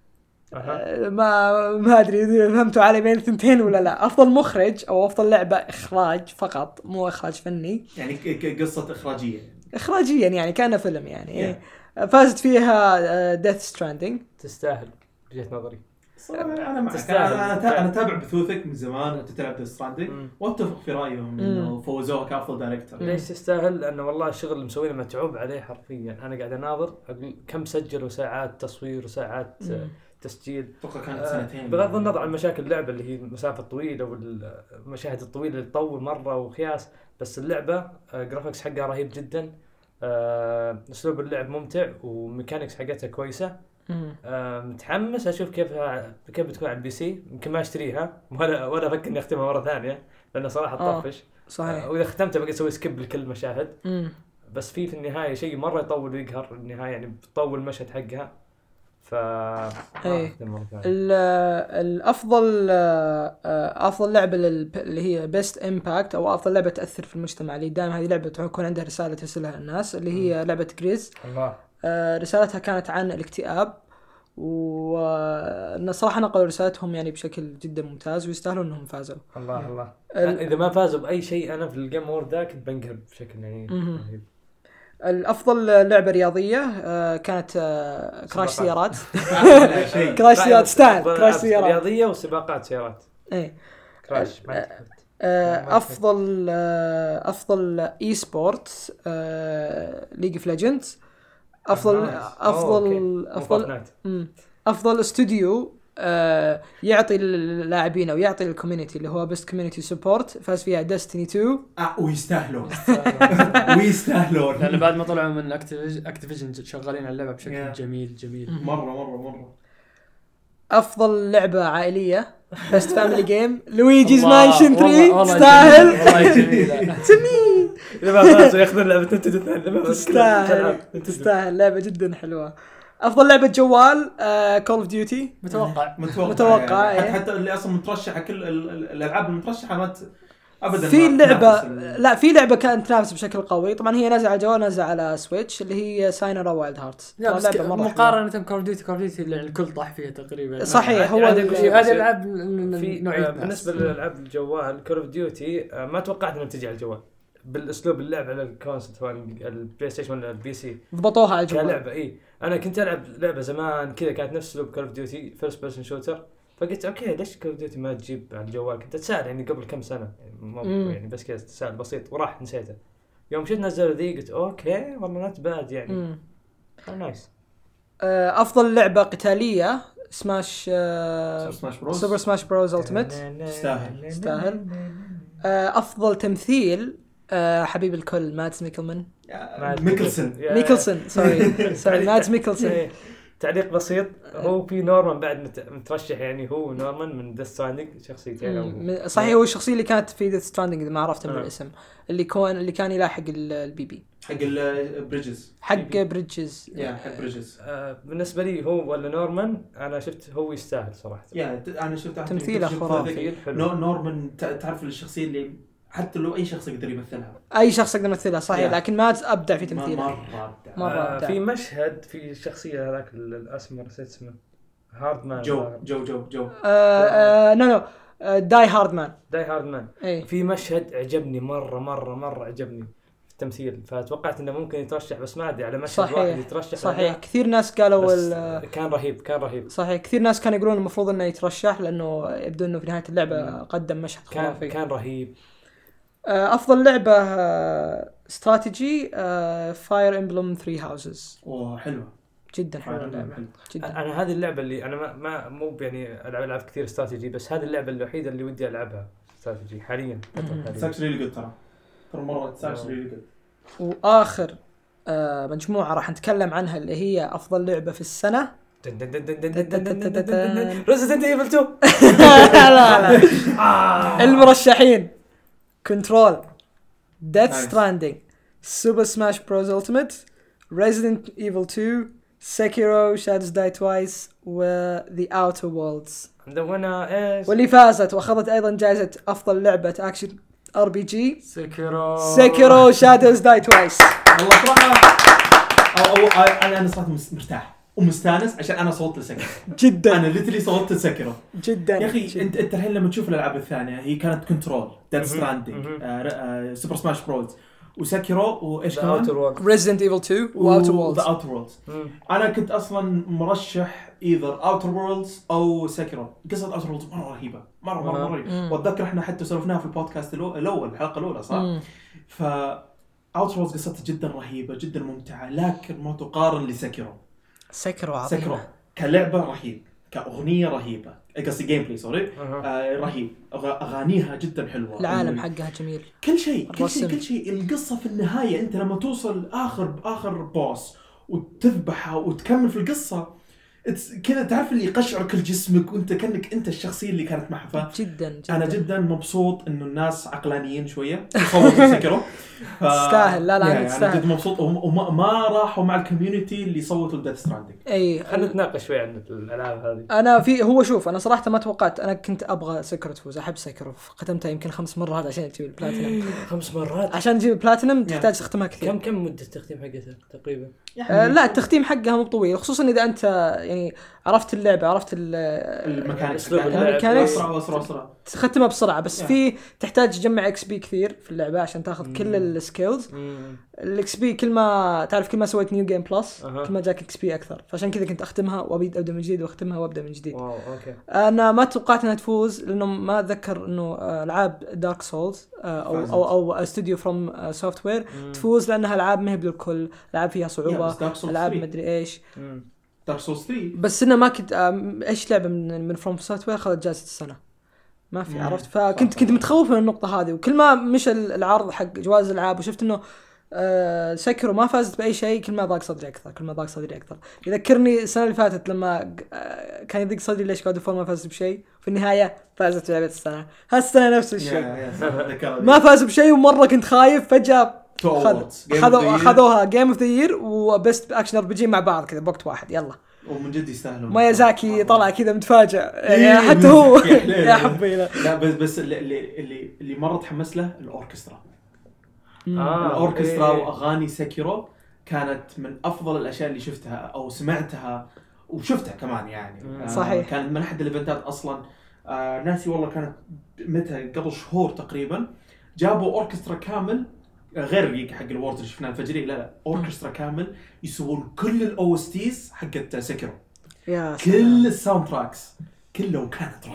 C: ما ادري اذا فهمتوا علي بين الثنتين ولا لا. افضل مخرج او افضل لعبه اخراج فقط مو اخراج فني،
A: يعني قصه
C: اخراجيا يعني كان فيلم يعني. فازت فيها ديث ستراندينج.
D: تستاهل بوجهة نظري.
A: انا تابع بثوثك من زمان انت تلعب ديث ستراندينج واتفق في رايهم انه فوزوها كافضل دايركتور.
D: ليش تستاهل؟ لانه والله الشغل اللي مسوينه متعوب عليه حرفيا. انا قاعد اناظر اقول كم سجلوا ساعات تصوير وساعات تسجيل.
A: اتوقع كانت 2
D: بغض النظر عن مشاكل اللعبه اللي هي المسافه الطويله والمشاهد الطويله اللي تطول مره وخياس، بس اللعبه جرافيكس حقها رهيب جدا. اسلوب اللعب ممتع وميكانكس حقتها كويسه. متحمس اشوف كيف بتكون على البي سي. يمكن ما اشتريها ولا افكر اني اختمها مره ثانيه لانه صراحه تطفش.
C: صحيح.
D: واذا ختمتها بقى اسوي سكيب لكل المشاهد. بس في النهايه شيء مره يطول ويقهر النهايه، يعني بتطول المشهد حقها.
C: الافضل افضل لعبه اللي هي بيست امباكت او افضل لعبه تاثر في المجتمع، اللي دائما هذه لعبه تكون عندها رساله ترسلها الناس، اللي هي لعبه جريز. رسالتها كانت عن الاكتئاب، وصراحه نقلوا رسالتهم يعني بشكل جدا ممتاز ويستاهلوا انهم فازوا.
D: الله اذا ما فازوا باي شيء انا في الجيم وورد ذاك بنقهر بشكل يعني رهيب.
C: الافضل لعبه رياضيه كانت كراش سيارات. كراش سيارات ستايل كراش سيارات
D: رياضيه وسباقات سيارات.
C: اي
D: كراش.
C: افضل اي سبورت ليج اوف ليجندز. افضل استوديو يعطي اللاعبين او يعطي الكوميونتي اللي هو بيست كوميونتي سبورت، فاز فيها ديستني 2.
A: ويستاهلون
B: لأن بعد ما طلعوا من اكتيفيجن شغالين على اللعبه بشكل جميل
A: مره.
C: افضل لعبه عائليه بيست فاميلي جيم لويجيز مانشن 3. تستاهل
B: والله جميله.
D: اذا ما فازوا ياخذون لعبه نينتندو.
C: تستاهل لعبه جدا حلوه. افضل لعبه جوال كول اوف ديوتي.
A: متوقع يعني. حتى اللي اصلا مترشحه كل الالعاب المترشحه ما ابدا
C: في لعبه لا في لعبه كانت تنافس بشكل قوي. طبعا هي نازله على الجوال، نازله على سويتش، اللي هي ساينر وايلد هارتس.
B: مقارنه كول اوف ديوتي اللي الكل طاح فيها تقريبا.
C: صحيح. هو
B: هذه الالعاب نوعيه
D: بالنسبه للالعاب الجوال كول اوف ديوتي ما توقعت انها تجي على الجوال بالاسلوب اللعب على الكونسول سواء البلاي ستيشن ولا البي سي.
C: ضبطوها على الجوال
D: كلعبه. انا كنت العب لعبه زمان كذا كانت نفس اسلوب كول اوف ديوتي فيرست بيرسون شوتر، فقلت اوكي ليش كول اوف ديوتي ما تجيب على الجوال. كنت اتساءل يعني قبل كم سنه يعني بس كذا تساؤل بسيط وراح نسيته. يوم شفت نزلوا ذي قلت اوكي والله نوت باد يعني نايس.
C: افضل لعبه قتاليه سماش
A: بروز.
C: سوبر سماش بروز التيميت. تستاهل. افضل تمثيل حبيب الكل مادز ميكلسون سوري مادز ميكلسون.
D: تعليق بسيط، هو في نورمان بعد مترشح يعني، هو نورمان من ديث ستراندينج شخصيتين.
C: صحيح هو الشخصية اللي كانت في ديث ستراندينج إذا ما عرفت من الاسم، اللي كان يلاحق البي بي
A: حق البريدجز
C: حق بريدجز.
D: بالنسبة لي هو ولا نورمان، أنا شفت هو يستاهل صراحة.
A: أنا شفت
C: تمثيله خرافي.
A: نورمان تعرف الشخصية اللي حتى لو أي شخص يقدر يمثلها
C: صحيح. لكن ما أبدع في تمثيله
A: مرة
C: أبدع.
D: في مشهد في الشخصية هذاك الأسمر نسيت اسمه هاردمان
A: جو
C: نو داي هاردمان.
D: في مشهد عجبني مرة عجبني في التمثيل، فتوقعت إنه ممكن يترشح بس ما أدري على مشهد واحد يترشح.
C: صحيح كثير ناس قالوا
D: كان رهيب.
C: صحيح كثير ناس كانوا يقولون المفروض إنه يترشح لأنه يبدو إنه في نهاية اللعبة قدم مشهد خرافي.
D: كان رهيب.
C: أفضل لعبة استراتيجي فاير إمبلم 3 هاوسز.
A: حلوة
C: جدا حلوة اللعبة جدا.
D: أنا هذه اللعبة اللي أنا ما مو يعني ألعب كثير استراتيجي، بس هذه اللعبة الوحيدة اللي ودي ألعبها استراتيجي حاليا.
A: ساكسري اللي قلت ترى مرة ساكسري اللي قلت.
C: وآخر مجموعة راح نتكلم عنها اللي هي أفضل لعبة في السنة.
D: Resident Evil 2.
C: لا المرشحين كنترول، Death Stranding, Super Smash Bros Ultimate, Resident Evil 2, Sekiro Shadows Die Twice و The Outer Worlds. واللي فازت واخذت ايضا جائزة افضل لعبة اكشن RPG Sekiro Shadows Die Twice.
A: والله صراحة انا صراحة مرتاح ومستانس عشان انا صوت لسكيرو
C: جدا.
A: انا ليتلي صوت لسكيرو
C: جدا
A: يا اخي. انت الحين لما تشوف الالعاب الثانيه هي كانت كنترول، ديث ستراندينج، سوبر سماش بروز، وسكيرو، وايش كمان
C: ريزيدنت ايفل 2 واوتر وورلدز.
A: انا كنت اصلا مرشح ايذر اوتر وورلدز او سكيرو. قصه اوتر وورلدز مره رهيبه مره واتذكر احنا حتى سولفناها في البودكاست الاول الحلقه الاولى صح. ف اوتر وورلدز قصتها جدا رهيبه جدا ممتعه، لكن ما تقارن لسكيرو. سكيرو كلعبة رهيب، كأغنية رهيبة، قصدي جيم بلاي سوري رهيب، أغانيها جدا حلوة،
C: العالم حقها جميل،
A: كل شيء القصة في النهاية أنت لما توصل آخر بوس وتذبحها وتكمل في القصة كذا تعرف اللي يقشعر كل جسمك وانت كأنك انت الشخصية اللي كانت معها.
C: جدا
A: انا جدا مبسوط انه الناس عقلانيين شوية صوتوا سكروا
C: تستاهل. لا
A: تستاهل. جدا مبسوط وما راحوا مع الكوميونتي اللي صوتوا الديث ستراندينج.
C: اي
D: خلينا نتناقش شوي عن الالعاب هذه.
C: انا شوف انا صراحة ما توقعت، انا كنت ابغى سكر تفوز، احب سكر، ختمتها يمكن 5 مرات عشان تجيب البلاتينم.
D: 5 مرات
C: عشان تجيب البلاتينم تحتاج تختمها كثير.
D: كم مدة التختيم حقتها تقريبا؟
C: لا التختيم حقها مو طويل، خصوصا اذا انت يعني عرفت اللعبة، عرفت
A: الميكانيكس
C: اسرع تختمها بسرعة. بس في تحتاج تجمع اكس بي كثير في اللعبة عشان تاخذ كل السكيلز. الاكس بي كل ما سويت نيو جيم بلس كل ما جاك اكس بي اكثر، فعشان كذا كنت اختمها وابدا من جديد واختمها وابدا من جديد.
D: اوكي.
C: انا ما توقعت انها تفوز لانه ما اتذكر انه العاب دارك سولز او استوديو فروم سوفت وير تفوز، لانها العاب ما هي بالكل، العاب فيها صعوبة، العاب ما ادري ايش.
A: دارك سولز 3
C: بس انه ما كنت ايش لعبه من فروم سوفت وير اخذت جائزه السنه ما في عرفت. فكنت متخوف من النقطه هذه. وكل ما مش العرض حق جوائز الالعاب وشفت انه سكرو ما فازت باي شيء كل ما ضاق صدري اكثر. يذكرني السنه اللي فاتت لما كان يضيق صدري ليش كود فور ما فازت بشيء في النهايه فازت بلعبه السنه. هالسنه نفس الشيء ما فازوا بشيء ومره كنت خايف. فجاه خذوها جيم اوف ذا يير وبست اكشن ار بي جي مع بعض كذا بوقت واحد. يلا
A: ومن جد يستاهلون.
C: مايازاكي طلع كذا متفاجئ يعني حتى هو يا حبي.
A: لا بس اللي مره تحمس له الاوركسترا. الأوركسترا وأغاني سكيرو كانت من أفضل الأشياء اللي شفتها أو سمعتها وشفتها كمان يعني.
C: صحيح.
A: كانت من أحد الإيفنتات أصلاً. ناسي والله كانت متى قبل شهور تقريباً جابوا أوركسترا كامل غير حق الوورد اللي شفناه الفجري. لا أوركسترا كامل يسوون كل الأوستيز حقت سكيرو. كل الساوند تراكس كله كانت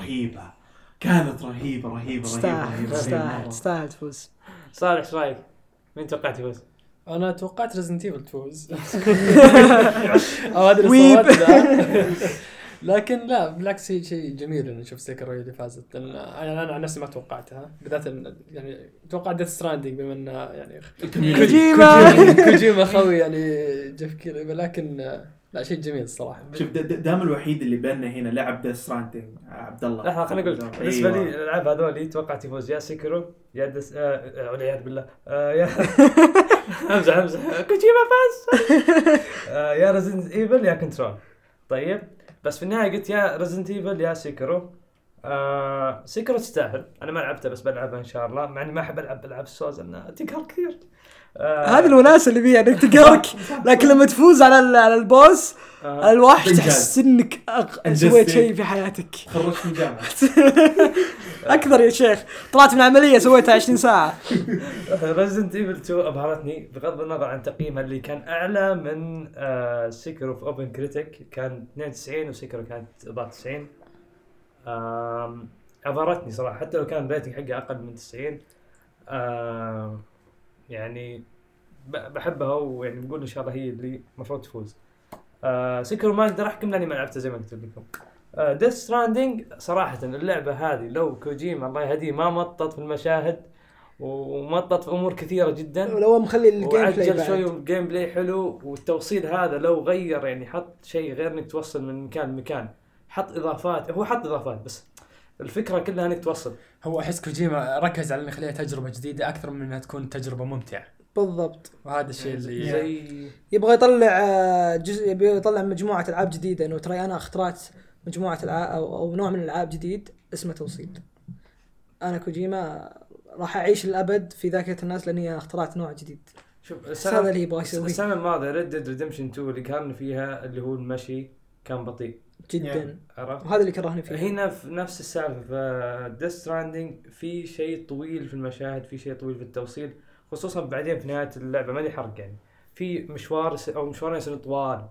A: رهيبة.
C: تستاهل تفوز.
D: صالح ايش رايك؟ مين توقعت يفوز؟
B: انا توقعت ريزنت ايفل تفوز او هذا اللي لكن لا بالعكس شيء جميل انه نشوف سيكرو اللي فازت. انا عن نفسي ما توقعتها بالذات يعني توقعت ديث ستراندينج بما انه يعني كوجيما خوي يعني جيف كيلي. لكن لا شيء جميل الصراحه.
A: شوف دام الوحيد اللي بيننا هنا لعب ديث ستراندينج عبد الله.
D: لا خليني اقول بالنسبه لي الالعاب هذول توقعت يفوز يا سيكرو يا والعياذ بالله يا امزح كوجيما فاز يا ريزيدنت ايفل يا كنترول. طيب بس في النهايه قلت يا ريزيدنت ايفل يا سيكرو. سيكرو تستاهل. انا ما لعبتها بس بلعبها ان شاء الله مع اني ما احب العب العاب السوز انها تقهر كثير.
C: هذه الوناسه اللي فيها انك تقهرك لكن لما تفوز على البوس الوحش تحس انك سويت شيء في حياتك.
A: خرجت من جامعه
C: اكثر يا شيخ. طلعت من عمليه سويتها 20 ساعه.
D: ريزيدنت ايفل 2 ابهرتني بغض النظر عن تقييمها اللي كان اعلى من سيكرو في اوبن كريتيك كان 92 وسيكرو كانت 94. ابهرتني صراحه حتى لو كان ريتنج حقها اقل من 90. يعني بحبها ويعني بقول ان شاء الله هي اللي المفروض تفوز. سيكرو ما اقدر احكم لاني ما لعبتها زي ما قلت لكم. ديث ستراندينج صراحه اللعبه هذه لو كوجيما الله يهديه ما مطط في المشاهد ومطط في امور كثيره جدا
C: ولو مخلي الجيم بلاي
D: شوي والجيم بلاي حلو والتوصيل هذا لو غير يعني حط شيء غير انك توصل من مكان لمكان. حط اضافات. هو حط اضافات بس الفكره كلها انك توصل.
B: هو احس كوجيما ركز على انه يخليها تجربه جديده اكثر من انها تكون تجربه ممتعه.
C: بالضبط.
B: وهذا الشيء اللي
D: زي
C: يبغى يطلع يبغى يطلع مجموعه العاب جديده. انه ترى انا اخترعت مجموعه العاب او نوع من الالعاب جديد اسمه توصيل. انا كوجيما راح اعيش الابد في ذاكره الناس لاني اخترعت نوع جديد.
D: شوف
C: هذا اللي يبغى يسويه.
D: السنه الماضيه ريد ديد ريدمشن 2 اللي كان فيها اللي هو المشي كان بطيء
C: جدا.
D: عرفت.
C: وهذا اللي كرهني فيه.
D: هنا في نفس السالفه في ديث ستراندينج في شيء طويل في المشاهد في شيء طويل في التوصيل خصوصا بعدين في نهايه اللعبه ما لي حرق يعني في مشوار او مشوارين يصيرون طوال.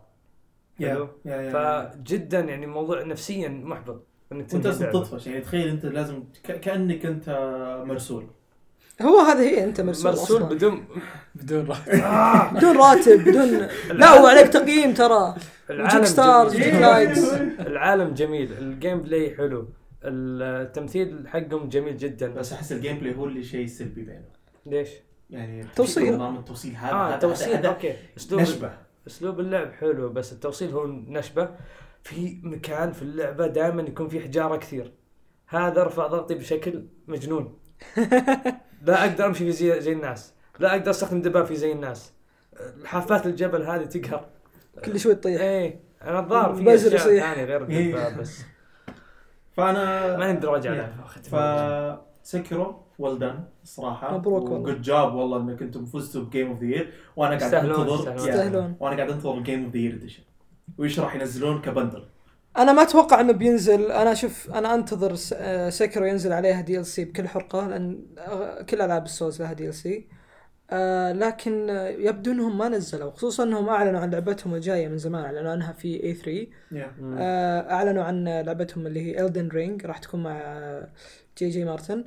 D: فجدا يعني موضوع نفسيا محبط انك
A: انت تطفش يعني. تخيل انت لازم كانك انت مرسول.
C: هو هذا هي انت مرسول
B: بدون راتب
C: بدون راتب بدون لا وعليك تقييم ترى.
D: العالم
C: ستارز
D: العالم جميل الجيم بلاي حلو التمثيل حقهم جميل جدا
A: بس احس الجيم بلاي هو اللي شيء سلبي بينه.
D: ليش
A: يعني
C: توصيل
A: نظام التوصيل هذا
D: توصيل اوكي
A: نشبه.
D: اسلوب اللعب حلو بس التوصيل هو نشبه. في مكان في اللعبه دائما يكون في حجاره كثير هذا رفع ضغطي بشكل مجنون. لا اقدر امشي في زي الناس لا اقدر استخدم دبابة زي الناس. حافات الجبل هذه تقهر
C: كل شوي تطيح.
D: ايه انا الظاهر في اشياء ثانيه غير الدبابة بس.
A: فانا
D: ما نقدر ارجع
A: لها. فسكرو ولدان الصراحه وجود جاب والله انك انتم فزتوا بجيم اوف ذا يير وانا قاعد انتظر وانا قاعد انتظر الجيم اوف ذا يير اديشن وايش راح ينزلون كبندل.
C: انا ما اتوقع انه بينزل. انا انا انتظر سيكرو ينزل عليها دي ال سي بكل حرقه لان كل العاب السوز لها دي ال سي. لكن يبدو انهم ما نزلوا خصوصا انهم اعلنوا عن لعبتهم الجايه من زمان. اعلنوا عنها في A3. اعلنوا عن لعبتهم اللي هي Elden Ring راح تكون مع جي مارتن.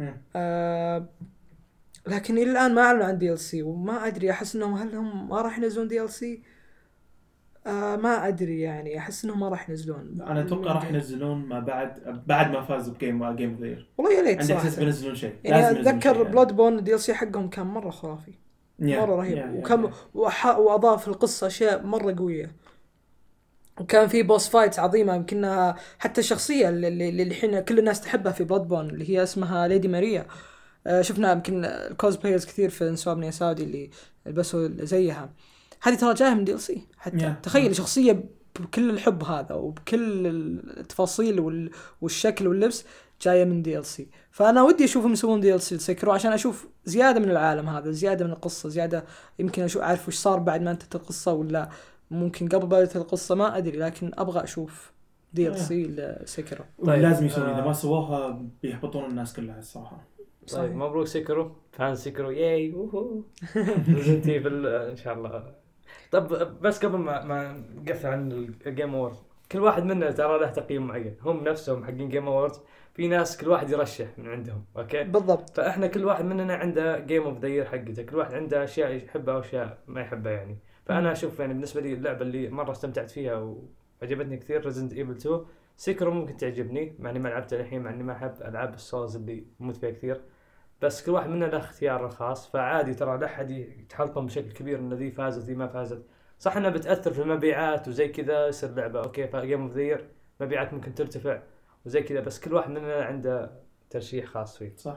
C: لكن الى الان ما اعلنوا عن دي ال سي وما ادري احس انهم هل هم ما راح ينزلون دي ال سي ما ادري يعني احس انهم ما راح ينزلون.
A: انا اتوقع راح ينزلون ما بعد ما فازوا بجيم ذا يير.
C: والله يا ليت
A: عندي
C: صراحه
A: احس بينزلون شيء.
C: يعني
A: لازم ينزلون
C: اتذكر
A: شيء
C: بلاد بون الدي ال سي حقهم كان مره خرافي مره رهيب وكم واضاف القصه اشياء مره قويه وكان في بوس فايتس عظيمه يمكنها حتى الشخصيه اللي الحين كل الناس تحبها في بلاد بون اللي هي اسمها ليدي ماريا. شفنا يمكن الكوز بلايرز كثير في انسومنيا ساودي اللي لبسوا زيها. هذه ترى جايه من دي ال سي حتى تخيل شخصيه بكل الحب هذا وبكل التفاصيل والشكل واللبس جايه من دي ال سي. فانا ودي اشوفهم يسوون دي ال سي لسكرو عشان اشوف زياده من العالم هذا زياده من القصه زياده يمكن اشوف اعرف وش صار بعد ما انتهت القصه ولا ممكن قبل بدايه القصه ما ادري لكن ابغى اشوف دي ال سي لسكرو.
A: طيب لازم يسوون اذا ما سووها بيحبطون الناس كلها الصراحه.
D: طيب مبروك سكرو فان سكرو ياي ووهو ريزنت ايفل ان شاء الله. طب بس قبل ما نقفل عن الجيم اوورد كل واحد منا ترى له تقييم معين. هم نفسهم حقين جيم اوورد في ناس كل واحد يرشح من عندهم اوكي
C: بالضبط.
D: فاحنا كل واحد مننا عنده جيم اوف ذا يير حقته. كل واحد عنده اشياء يحبها واشياء ما يحبها يعني. فانا اشوف يعني بالنسبه لي اللعبه اللي مره استمتعت فيها وعجبتني كثير ريزنت ايفل 2. سيكرو ممكن تعجبني مع اني ما لعبتها الحين مع اني ما احب العاب السولز اللي موت فيها كثير بس كل واحد منا له اختياره الخاص. فعادي ترى لا احد يتحلطم بشكل كبير ان ذي فازت ذي ما فازت. صح انها بتاثر في المبيعات وزي كذا يصير لعبه اوكي فجيم اوف ذا يير مبيعات ممكن ترتفع وزي كذا بس كل واحد مننا عنده ترشيح خاص فيه.
A: صح.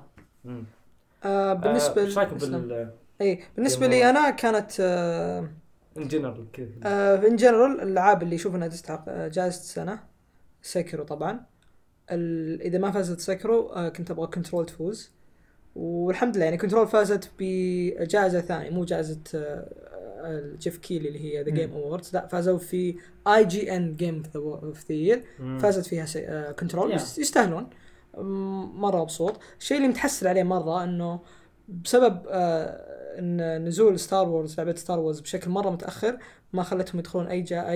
C: بالنسبه
D: ايش رايكم
C: بالنسبه لي انا كانت
D: ان جنرال كذا
C: ان جنرال الالعاب اللي اشوف انها تستحق جائزه السنه سيكرو طبعا. اذا ما فازت سيكرو كنت ابغى كنترول تفوز والحمد لله يعني كنترول فازت بجائزه ثانيه مو جائزه جيف كيلي اللي هي ذا جيم اووردز لا فازوا في IGN جيم اوف ذا يير فازت فيها كنترول يستاهلون مره مبسوط. الشيء اللي متحسر عليه مره انه بسبب ان نزول ستار وورز لعبه ستار وورز بشكل مره متاخر ما خلتهم يدخلون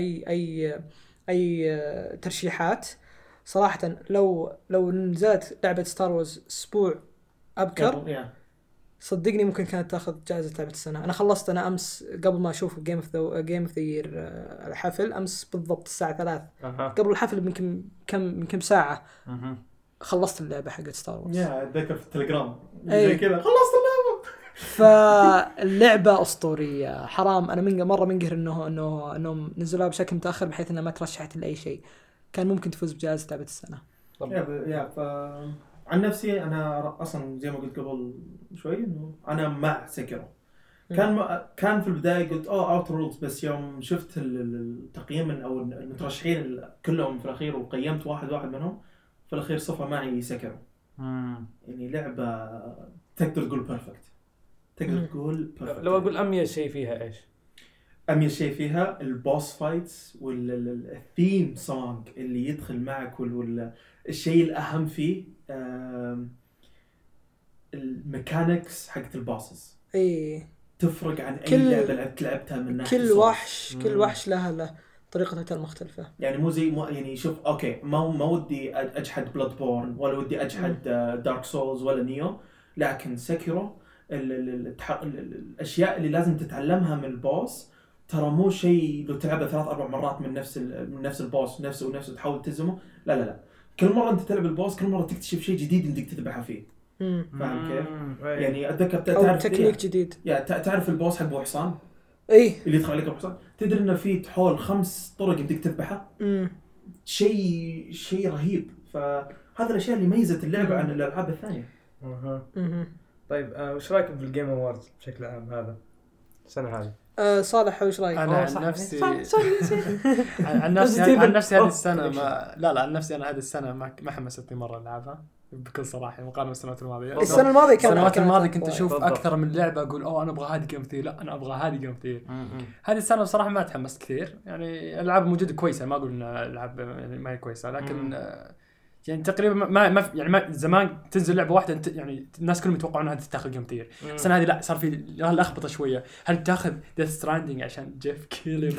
C: اي ترشيحات صراحه. لو نزلت لعبه ستار وورز اسبوع ابكر صدقني ممكن كانت تاخذ جائزه لعبه السنه. انا خلصت انا امس قبل ما اشوف جيم اوف ذا يير الحفل امس بالضبط الساعه 3 قبل الحفل يمكن ساعه خلصت اللعبه حقت ستار وورز.
A: اتذكر في التليجرام زي كذا خلصت اللعبه.
C: فاللعبه اسطوريه حرام. انا مره منقهر انهم نزلوها بشكل متاخر بحيث انها ما ترشحت لاي شيء. كان ممكن تفوز بجائزه لعبه السنه.
A: عن نفسي انا اصلا زي ما قلت قبل شوي انه انا مع سيكرو. كان في البدايه قلت اوت رولز بس يوم شفت التقييم او المترشحين كلهم في الاخير وقيمت واحد منهم في الاخير صفه معي سيكرو. يعني لعبه تقدر تقول بيرفكت.
D: لو اقول اميز شيء فيها ايش؟
A: اميز شيء فيها البوس فايتس والثيم سونج اللي يدخل معك الشيء الاهم فيه الميكانكس حقت البوسز. تفرق عن اي لعبه لعبتها من ناحيه
C: كل وحش له طريقته المختلفه.
A: يعني مو زي يعني شوف اوكي ما ودي اجحد بلاد بورن ولا ودي اجحد دارك سولز ولا نيو لكن سيكيرو الاشياء اللي لازم تتعلمها من البوس ترى مو شيء لو تلعبه 3-4 مرات من نفس البوس نفسه تحاول تهزمه. لا كل مره انت تلعب البوس كل مره تكتشف شيء جديد انك تذبحه فيه. فاهم كيف؟ يعني اتذكر تعرف
C: تكنيك جديد.
A: تعرف البوس حق ابو حصان اللي يدخل عليك ابو حصان تدري انه في حول 5 طرق انك تذبحه. شيء رهيب. فهذا الاشياء اللي ميزت اللعبه عن الالعاب الثانيه.
D: طيب وش رايكم في الجيم اووردز بشكل عام هذا السنه هذه؟
C: صالح وش رايك؟
B: انا عن نفسي عن نفسي هذه السنه عن نفسي انا هذه السنه ما حمستني مره العبها بكل صراحه مقارنه بالسنوات الماضيه. السنوات الماضيه كنت اشوف اكثر من لعبه اقول انا ابغى هذه جيم كثير لا انا ابغى هذه جيم كثير. هذه السنه بصراحه ما تحمست كثير. يعني العاب موجوده كويسه ما اقول ان العاب يعني ما هي كويسه لكن يعني تقريبا ما زمان تنزل لعبه واحده يعني الناس كلهم يتوقعون انها تاخذ جيم كثير. السنه هذه لا صار في لخبطه شويه. هل تاخذ ديث ستراندينج عشان جيف كيلي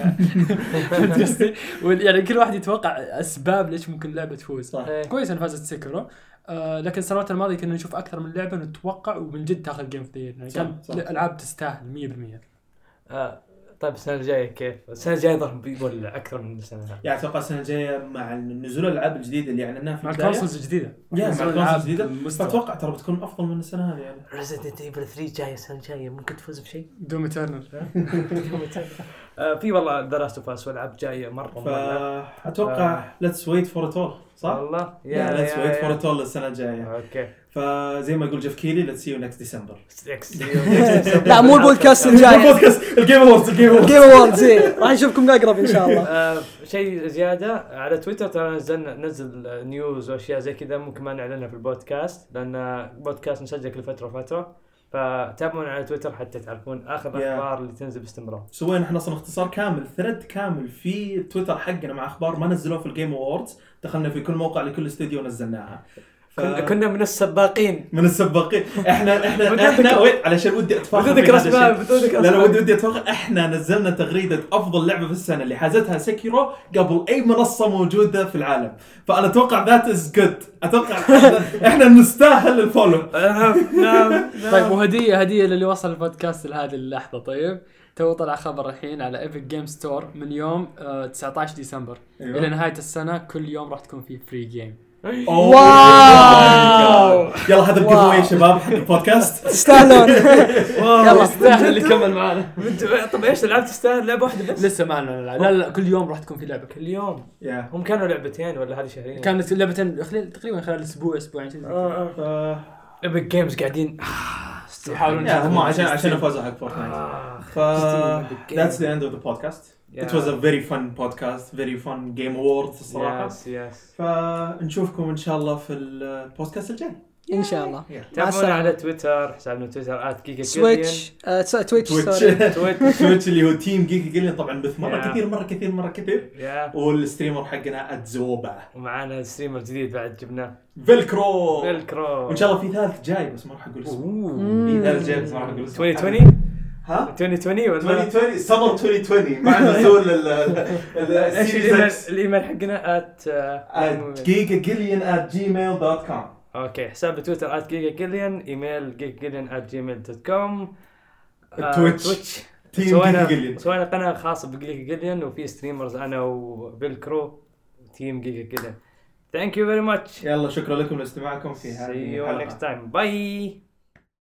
B: يعني كل واحد يتوقع اسباب ليش ممكن لعبه تفوز. كويس ان فازت سيكرو لكن السنوات الماضيه كنا نشوف اكثر من لعبه نتوقع ومن جد تاخذ جيم كثير. يعني كان العاب تستاهل 100%.
D: طيب السنه الجايه كيف؟ السنه الجايه ضرب بيولع اكثر من السنه هذه.
A: يعني اتوقع السنه الجايه مع نزول الالعاب الجديده اللي اعلناها في
B: مع
A: البدايه
B: الكونسولز الجديده
A: مع الكونسولز الجديده
B: المستوى.
A: فاتوقع ترى بتكون افضل من السنه هذه يعني.
D: ريزيدنت ايفل 3 جايه السنه الجايه ممكن تفوز بشيء.
B: دوم ايترنال.
D: في والله ذا لاست اوف اس والعاب جايه مره
A: فاتوقع ليتس ويت فور ات اول صح؟
D: والله
A: ليتس ويت فور ات اول السنه الجايه.
D: اوكي
A: فزي ما يقول جيف كيلي ليتس سي يو نكست ديسمبر.
C: لا مو البودكاست الجاي،
A: البودكاست الجيم اووردز
C: الجيم اووردز راح نشوفكم اقرب ان شاء الله.
D: شيء زياده على تويتر ترى نزل نيوز واشياء زي كذا ممكن ما نعلنها في البودكاست لان بودكاست نسجل كل فتره وفتره، فتابعونا على تويتر حتى تعرفون اخر الاخبار اللي تنزل باستمرار.
A: سوينا احنا اصلا اختصار كامل ثريد كامل في تويتر حقنا مع اخبار ما نزلوها في الجيم اووردز، دخلنا في كل موقع لكل استوديو نزلناها.
D: كنا من السباقين
A: احنا وين علشان ودي اتفاخر
D: بدونك رسمه
A: لا ودي اتفاخر. احنا نزلنا تغريده افضل لعبه في السنه اللي حازتها سيكيرو قبل اي منصه موجوده في العالم، فانا اتوقع ذات از جود. اتوقع احنا نستاهل الفولو.
B: طيب وهديه للي وصل البودكاست لهذه اللحظه. طيب تو طلع خبر الحين على ايبك جيم ستور من يوم 19 ديسمبر الى نهايه السنه كل يوم راح تكون في فري جيم.
C: واو
A: يلا هذا الجيف اواي يا شباب حق البودكاست
C: تستاهلون.
B: يلا استاهل اللي كمل معنا.
D: طب ايش لعبت تستاهل لعبه واحده بس؟
B: لسه معنا لا كل يوم راح تكون في لعبه.
D: كل يوم هم كانوا لعبتين ولا هذه شهرين؟
B: كانت لعبتين تقريبا خلال اسبوعين كذا.
D: ايبك جيمز قاعدين
B: يحاولون
A: هم عشان فازوا حق فورتنايت. that's the end of the podcast. It was a very fun podcast, very fun game awards الصراحة.
D: Yes.
A: فنشوفكم إن شاء الله في البودكاست الجاي.
C: إن شاء الله.
D: تابعونا على تويتر، حسابنا تويتر @gigagallion.
A: تويتش اللي هو تيم جيجا جيليان طبعا بث مرة كثير. والستريمر حقنا @زوبا.
D: ومعانا ستريمر جديد بعد جبناه.
A: فيلكرو.
D: وإن
A: شاء الله في ثالث جاي بس ما راح أقول اسمه. في ثالث جاي بس ما راح أقول اسمه.
D: 2020.
A: ها
D: 2020 ولا
A: 2020 سمر 2020 مع نزول
D: ايش الايميل حقنا
A: @gigagillion@gmail.com.
D: اوكي حساب تويتر @gigagillion، ايميل gigagillion@gmail.com.
A: تويتش
D: سوينا قناه خاصه بجيجا وفي ستريمرز انا وبيلكرو تيم جيجا. ثانك يو فيري ماتش.
A: يلا شكرا لكم لاستماعكم في هذه
D: الحلقه. See you next time. Bye.